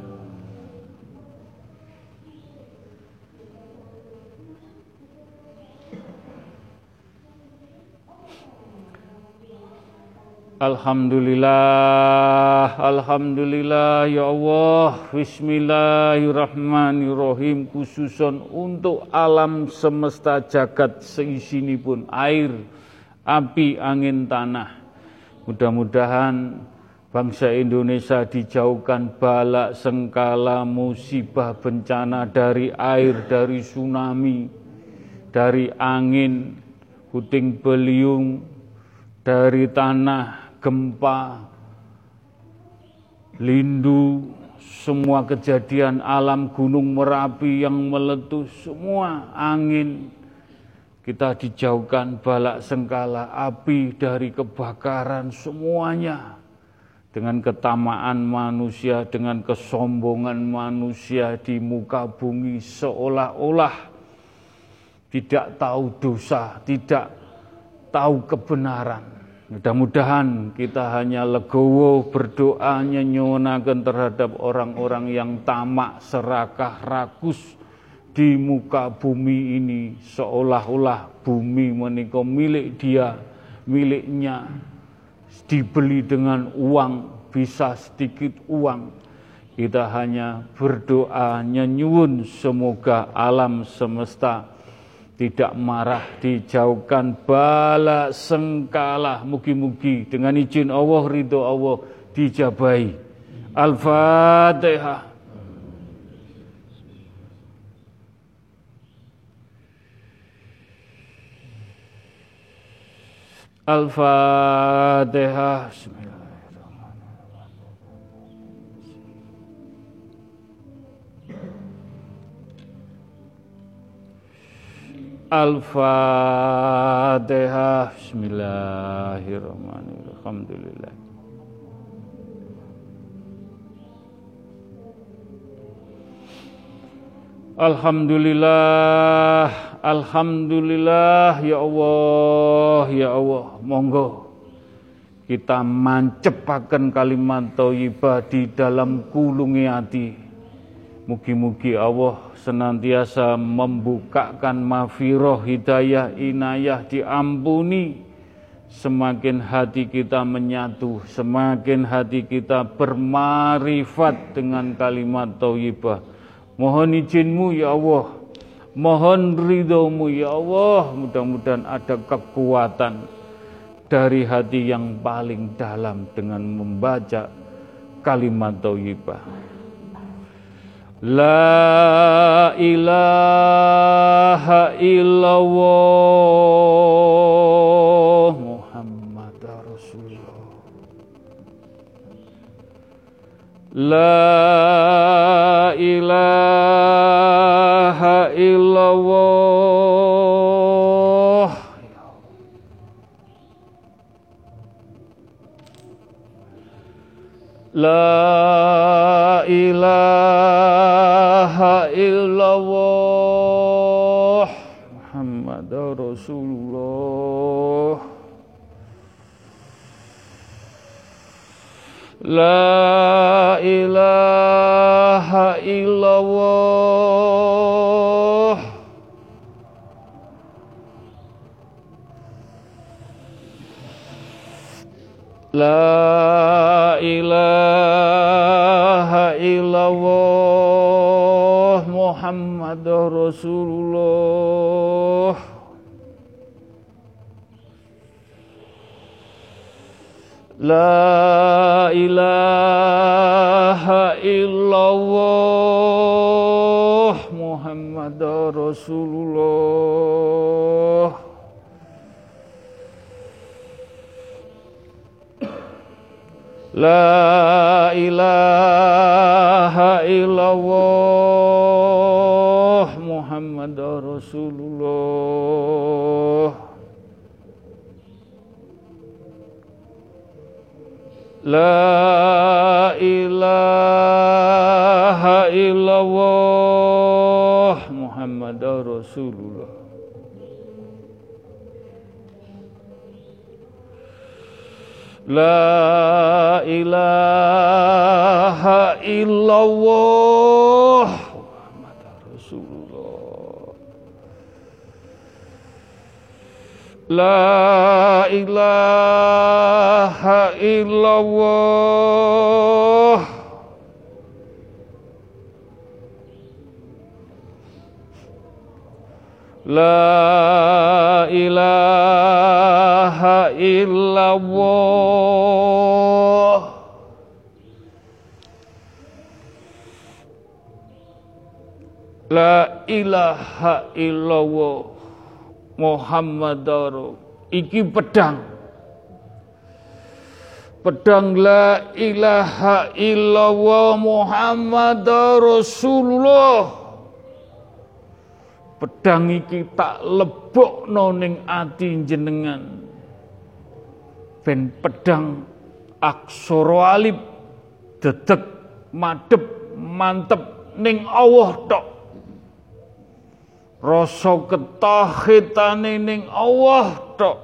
Alhamdulillah ya Allah. Bismillahirrahmanirrahim. Khususon untuk alam semesta jagat seisinipun, air, api, angin, tanah. Mudah-mudahan bangsa Indonesia dijauhkan bala sengkala musibah bencana dari air, dari tsunami, dari angin, puting beliung, dari tanah, gempa, lindu, semua kejadian alam, gunung Merapi yang meletus, semua angin. Kita dijauhkan balak sengkala, api dari kebakaran, semuanya. Dengan ketamaan manusia, dengan kesombongan manusia di muka bumi, seolah-olah tidak tahu dosa, tidak tahu kebenaran. Mudah-mudahan kita hanya legowo berdoa nyuwunaken terhadap orang-orang yang tamak, serakah, rakus di muka bumi ini, seolah-olah bumi menika milik dia, miliknya, dibeli dengan uang, bisa sedikit uang. Kita hanya berdoa nyuwun semoga alam semesta tidak marah, dijauhkan bala sengkala. Mugi-mugi dengan izin Allah, ridho Allah dijabahi. Al-Fatihah. Al-Fatihah. Al-Fatihah. Bismillahirrahmanirrahim. Alhamdulillah. Alhamdulillah, alhamdulillah ya Allah, monggo kita mancepaken kalimat thayyibah di dalam kulungi hati. Mugi-mugi Allah senantiasa membukakan maghfirah, hidayah, inayah, diampuni. Semakin hati kita menyatu, semakin hati kita bermarifat dengan kalimat thayyibah. Mohon izinmu ya Allah, mohon ridhomu ya Allah, mudah-mudahan ada kekuatan dari hati yang paling dalam dengan membaca kalimat thayyibah. La ilaha illallah Muhammad Rasulullah. La ilaha illallah. La ilaha illallah Muhammad Rasulullah. La ilaha illallah. La ilaha illallah Muhammad Rasulullah. La ilaha illallah Muhammad Rasulullah. La ilaha illallah Muhammad Rasulullah. La ilaha illallah Muhammad Rasulullah. La ilaha illallah Muhammad Rasulullah. La ilaha illallah. La ilaha illallah. La ilaha illallah Muhammadar. Iki pedang la ilaha illallah Muhammadar Rasulullah. Pedang iki tak lebokno ning ati jenengan. Ben pedang aksara alif dedeg madhep mantep ning Allah tok. Rasa ketauhidane ning Allah tok.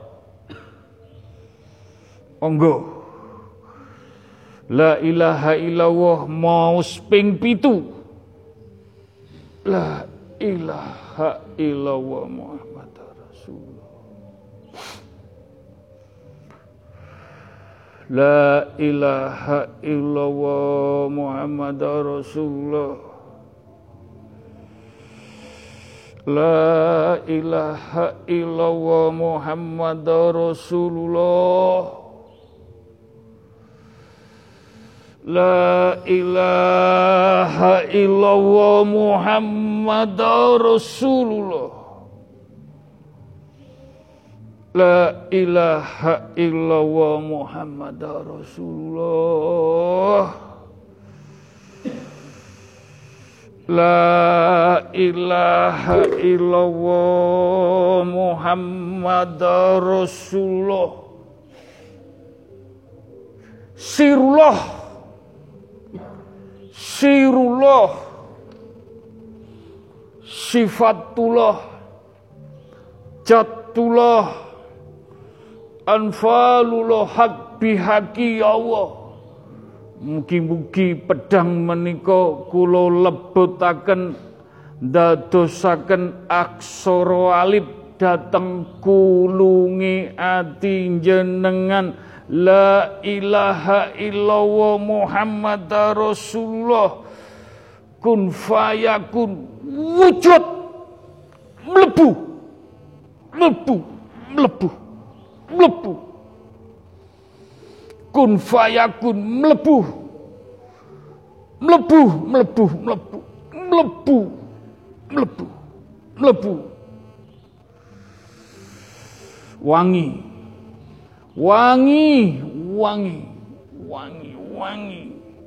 Monggo. La ilaha illallah maos ping 7. La ilaha illallah Muhammad Rasulullah. La ilaha illallah Muhammad Rasulullah. La ilaha illallah Muhammad Rasulullah. La ilaha illallah Muhammad Rasulullah. La ilaha illallah Muhammad Rasulullah. La ilaha illallah Muhammad Rasulullah. Sirullah, sirullah, sifatullah, jatullah, anfalullah hak bihaki ya Allah. Mugi-mugi pedang menika kula lebetaken dadosaken aksara alif dhateng kulungi ati jenengan. La ilaha illallah Muhammad Rasulullah. Kun fayakun wujud mlebu mlebu mlebu mlebu. Kun fayakun mlebu mlebu mlebu mlebu mlebu mlebu mlebu. Wangi wangi wangi wangi wangi.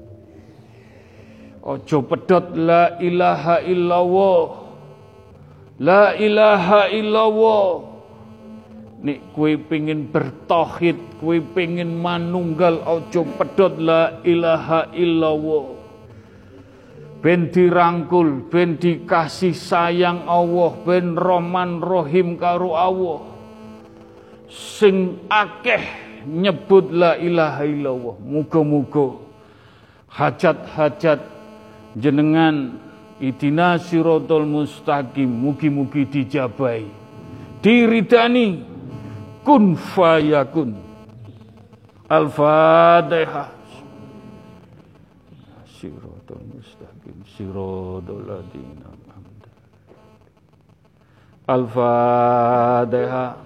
Ojo pedot la ilaha illallah. La ilaha illallah. Nek kowe pengin bertauhid, kowe pengin manunggal, ojo pedot la ilaha illallah. Ben dirangkul, ben dikasih sayang Allah, ben Rahman Rahim karo Allah. Sing akeh nyebut la ilaha illallah. Muga-muga hajat-hajat jenengan idina siratal mustaqim mugi-mugi dijabahi, diridani. Kun fayakun. Al-Fatihah. Siratal mustaqim siratal ladzina an'amta. Al-Fatihah.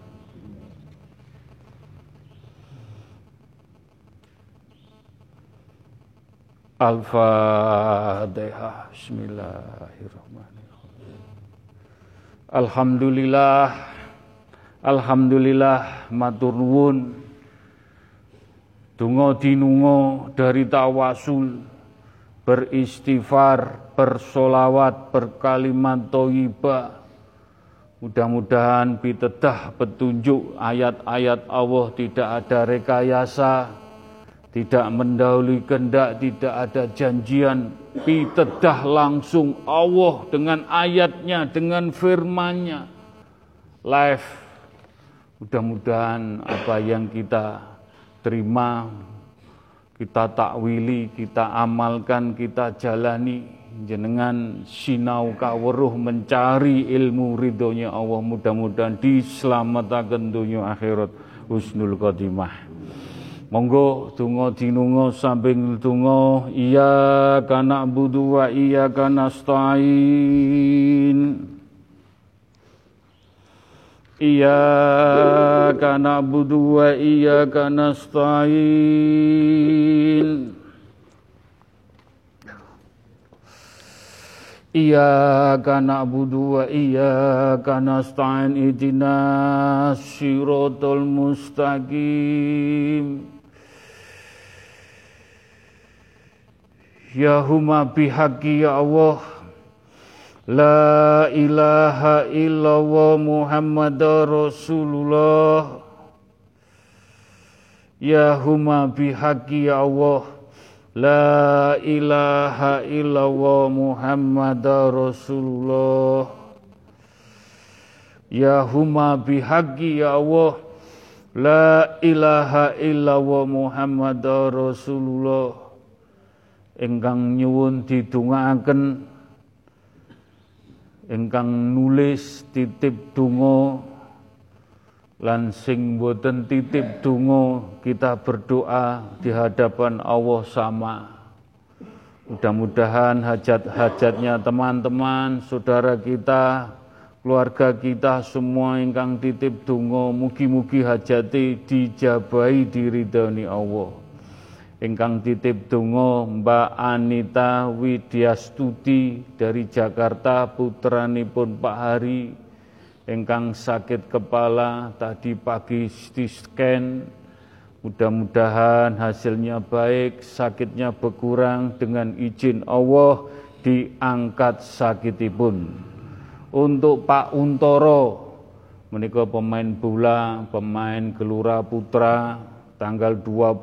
Al-Fatihah. Bismillahirrahmanirrahim. Alhamdulillah. Alhamdulillah matur nuwun. Donga dinunga dari tawasul, beristighfar, bersolawat, berkalimat thayyibah. Mudah-mudahan pitedah petunjuk ayat-ayat Allah, tidak ada rekayasa, tidak mendahului kehendak, tidak ada janjian. Pitedah langsung Allah dengan ayatnya, dengan firman-Nya. Live. Mudah-mudahan apa yang kita terima, kita takwili, kita amalkan, kita jalani. Jenengan sinau kaweruh mencari ilmu ridhonya Allah. Mudah-mudahan diselamatkan dunia akhirat husnul khotimah. Monggo donga dinunga samping donga iyyaka na'budu wa iyyaka nasta'in. Iyyaka na'budu wa iyyaka nasta'in. Iyyaka na'budu wa iyyaka nasta'in. Ihdinas siratal mustaqim. Ya huma bihaqi ya Allah. La ilaha illallah Muhammad Rasulullah. Ya huma bihaqi ya Allah. La ilaha illallah Muhammad Rasulullah. Ya huma bihaqi ya Allah. La ilaha illallah Muhammad Rasulullah. Ingkang nyuwun didongaaken, ingkang nulis titip donga lan sing boten titip donga, kita berdoa di hadapan Allah sama. Mudah-mudahan hajat-hajatnya teman-teman, saudara kita, keluarga kita semua ingkang titip donga, mugi-mugi hajate dijabahi diridhani Allah. Ingkang titip donga Mbak Anita Widyastuti dari Jakarta, putranipun Pak Hari, ingkang sakit kepala tadi pagi di scan, mudah-mudahan hasilnya baik, sakitnya berkurang, dengan izin Allah diangkat sakitipun. Untuk Pak Untoro, menika pemain bola, pemain Gelora Putra, tanggal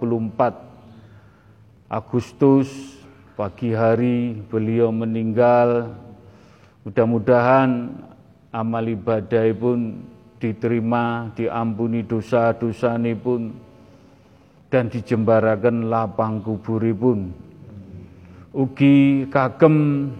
24 Agustus pagi hari beliau meninggal. Mudah-mudahan amal ibadah pun diterima, diampuni dosa-dosanipun, dan dijembaraken lapang kuburipun. Ugi kagem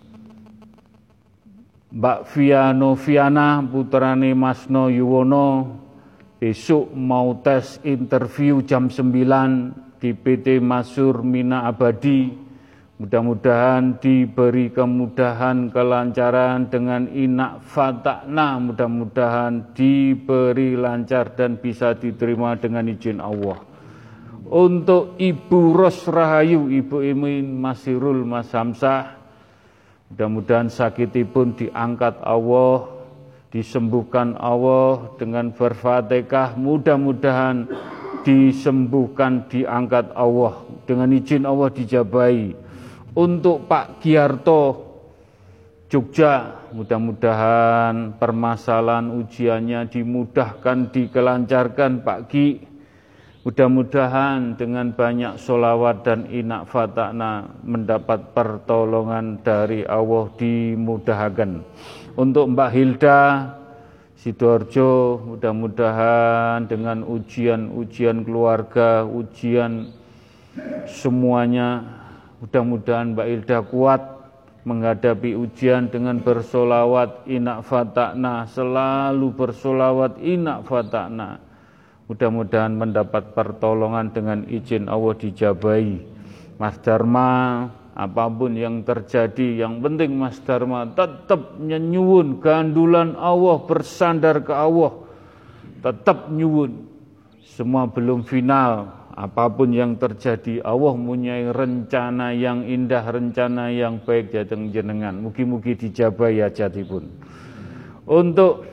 Mbak Via Noviana putrane Masno Yuwono besok mau tes interview jam 9 di PT Masur Mina Abadi. Mudah-mudahan diberi kemudahan, kelancaran dengan inak fatakna, mudah-mudahan diberi lancar dan bisa diterima dengan izin Allah. Untuk Ibu Ros Rahayu, Ibu Imin Masirul Mas Hamzah, mudah-mudahan sakitipun diangkat Allah, disembuhkan Allah dengan berfatihah, mudah-mudahan disembuhkan, diangkat Allah, dengan izin Allah dijabahi. Untuk Pak Giarto Jogja, mudah-mudahan permasalahan ujiannya dimudahkan, dikelancarkan Pak Gi. Mudah-mudahan dengan banyak sholawat dan inak fatakna mendapat pertolongan dari Allah, dimudahkan. Untuk Mbak Hilda Sidoarjo, mudah-mudahan dengan ujian-ujian keluarga, ujian semuanya, mudah-mudahan Mbak Hilda kuat menghadapi ujian dengan bersolawat inak fatakna, selalu bersolawat inak fatakna. Mudah-mudahan mendapat pertolongan dengan izin Allah dijabahi. Mas Dharma, apapun yang terjadi, yang penting Mas Dharma tetap nyuwun gandulan Allah, bersandar ke Allah, tetap nyuwun. Semua belum final. Apapun yang terjadi, Allah mempunyai rencana yang indah, rencana yang baik datang jenengan. Mugi-mugi dijabahi hajatipun. Untuk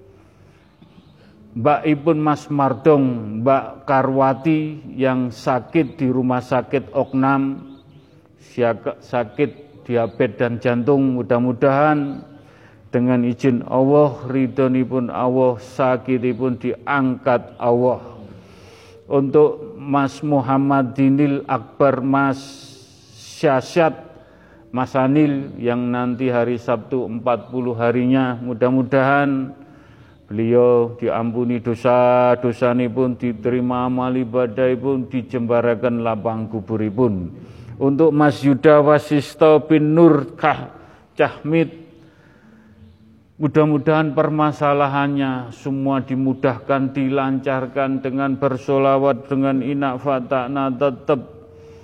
Mbak Ipun Mas Mardong, Mbak Karwati yang sakit di rumah sakit Oknam, sakit diabetes dan jantung, mudah-mudahan dengan izin Allah, ridhonipun Allah, sakitipun diangkat Allah. Untuk Mas Muhammad Dinil Akbar, Mas Syasyat, Mas Anil yang nanti hari Sabtu 40 harinya, mudah-mudahan beliau diampuni dosa-dosanipun, diterima amal ibadahipun, dijembaraken lapang kuburipun. Untuk Mas Yuda Wasisto bin Nur Cahmid, mudah-mudahan permasalahannya semua dimudahkan, dilancarkan dengan bersolawat, dengan inak fatakna, tetap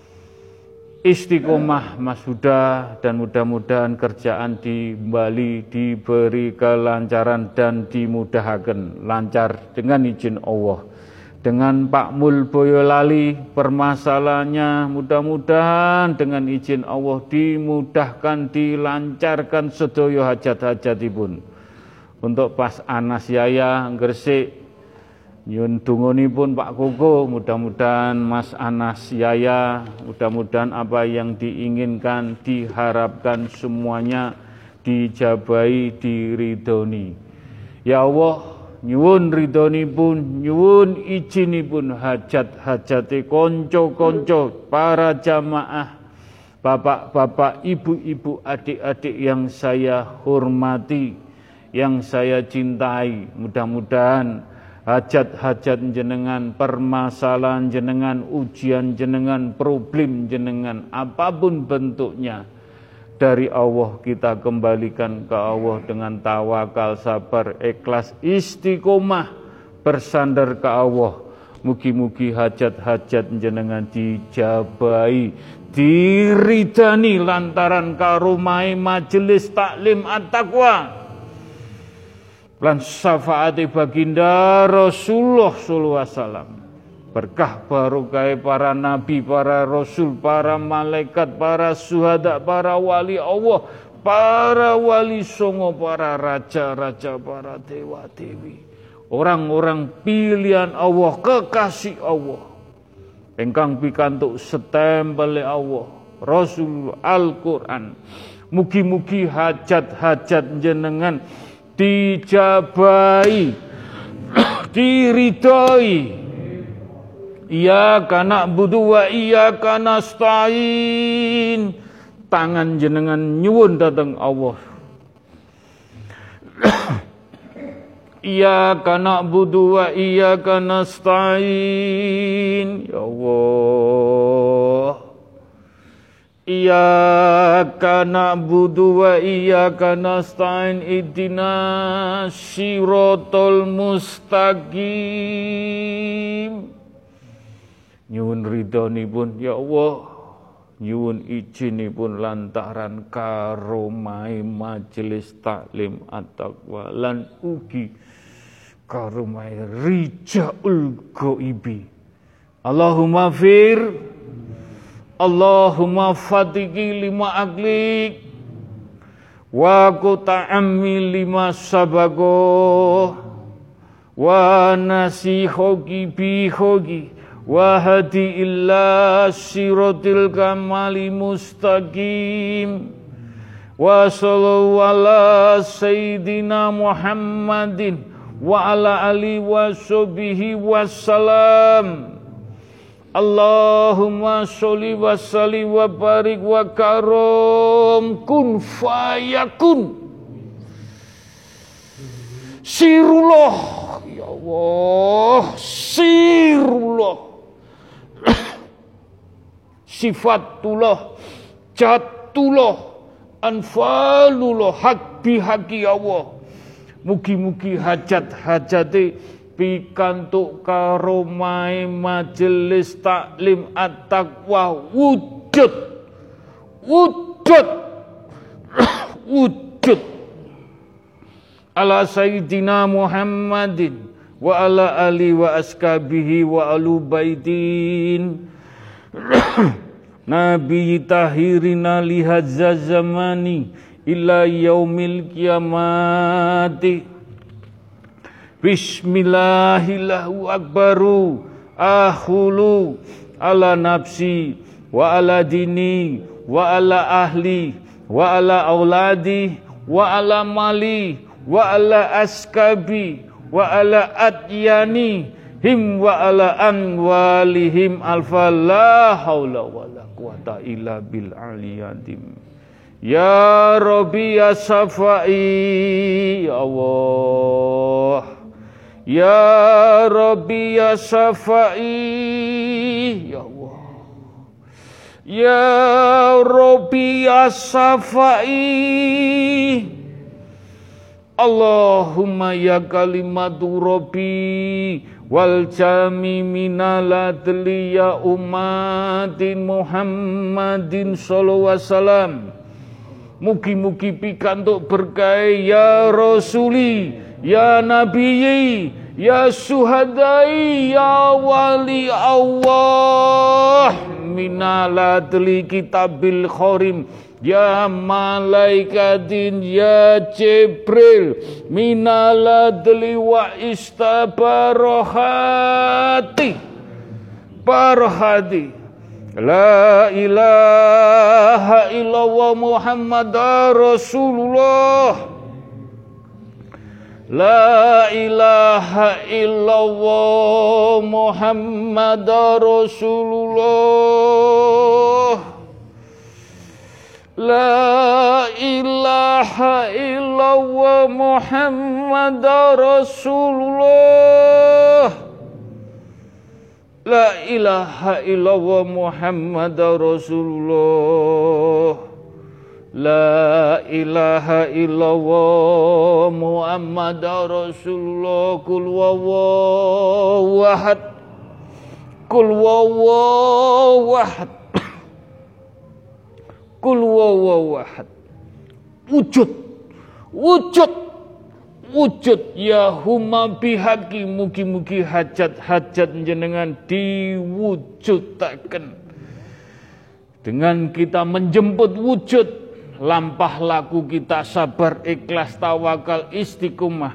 istiqomah Mas Huda, dan mudah-mudahan kerjaan di Bali diberi kelancaran dan dimudahkan lancar dengan izin Allah. Dengan Pak Mul Boyolali permasalahannya mudah-mudahan dengan izin Allah dimudahkan, dilancarkan sedaya hajat-hajatipun. Untuk Pas Anas Yaya Gresik, nyun dongonipun Pak Koko, mudah-mudahan Mas Anas Yaya, mudah-mudahan apa yang diinginkan, diharapkan semuanya dijabahi, diridhoni. Ya Allah, nyuwun ridhonipun, nyuwun izinipun hajat-hajate konco-konco, para jamaah, bapak-bapak, ibu-ibu, adik-adik yang saya hormati, yang saya cintai. Mudah-mudahan hajat-hajat jenengan, permasalahan jenengan, ujian jenengan, problem jenengan, apapun bentuknya, dari Allah kita kembalikan ke Allah dengan tawakal, sabar, ikhlas, istiqomah, bersandar ke Allah. Mugi-mugi hajat-hajat jenengan dijabahi, diridani lantaran karomai majelis taklim at-taqwa lan syafaati baginda Rasulullah sallallahu alaihi wasallam. Berkah barokah para nabi, para rasul, para malaikat, para syuhada, para wali Allah, para wali songo, para raja-raja, para dewa-dewi, orang-orang pilihan Allah, kekasih Allah, ingkang pikantuk setempel Allah, Rasul Al-Quran. Mugi-mugi hajat-hajat jenengan dijabahi, diridhoi. Iyyaka na'budu wa iyyaka nasta'in. Tangan jenengan nyuwun dateng Allah. Iyyaka na'budu wa iyyaka nasta'in. Ya Allah. Iyyaka na'budu wa iyyaka nasta'in. Ihdinas siratal mustaqim. Nyuwun ridhonipun ya Allah, nyuwun izinipun lantaran karomai majelis taklim at-taqwa lan ugi karomai rijaul ghaibi. Allahumma fir, Allahumma fatiki lima aklik, wa kuta'ammi lima sabago, wa nasihogi bihogi, wahdi illa siratil kamali mustaqim, wa sallallahu ala sayyidina Muhammadin wa ala alihi wa sahbihi wassalam. Allahumma sholli wa sallim wa barik wa karom kun fayakun. Sirullah ya Allah, sirullah. Sifatullah, jatullah, anfalullah, hak bihaki Allah. Mugi-mugi hajat-hajate pikantuk karomai majelis taklim at-taqwa wujud, wujud, wujud. Ala sayyidina Muhammadin wa ala ali wa askabihi wa alu baitin Nabi tahirina lihadza zamani ila yaumil kiamati. Bismillahillahu akbaru akhulu ala nafsi wa ala dini wa ala ahli wa ala auladi wa ala mali wa ala askabi wa ala adyani him wa ala anwalihim alfa la haula wa la quwata illa bil aliyadim. Ya Rabbi ya Safai ya Allah, ya Rabbi ya Safai ya Allah, ya Rabbi ya Safai. Allahumma ya kalimatu Rabbi wal jami minal adli ya umatin Muhammadin sallallahu alaihi wasallam. Mugi-mugi pikantuk berkah ya Rasuli, ya Nabi, ya Suhadai, ya Wali Allah. Minal adli kitabil khorim, ya malaikatin, ya Jibril. Minal adli wa istabarohati, barhati. La ilaha illallah Muhammadar Rasulullah. La ilaha illallah Muhammadar Rasulullah. La ilaha illallah Muhammadar Rasulullah. La ilaha illallah Muhammadar Rasulullah. La ilaha illallah Muhammadar Rasulullah. Kul huwallahu ahad. Kul huwallahu ahad. Kul huwallahu ahad. Wujud, wujud, wujud ya huma bihaqi. Mugi-mugi hajat-hajat jenengan diwujudaken dengan kita menjemput wujud lampah laku kita, sabar, ikhlas, tawakal, istiqomah.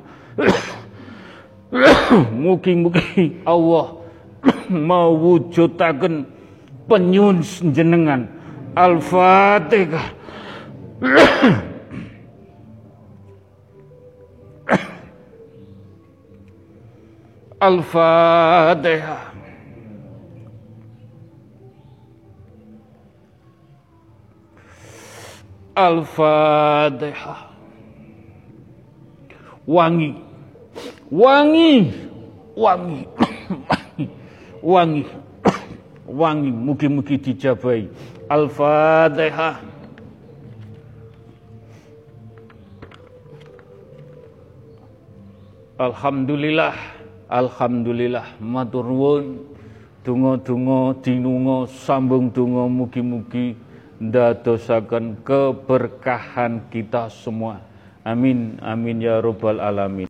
Mugi-mugi Allah mewujudaken penyuwun jenengan. Al-Fatihah. Al-Fatihah. Al-Fatihah. Wangi, wangi, wangi, wangi, wangi. Mugi-mugi dijabahi. Al-Fatihah. Alhamdulillah, alhamdulillah. Matur nuwun. Donga-donga dinunga sambung donga mugi-mugi ndadosaken keberkahan kita semua. Amin, amin ya rabbal alamin.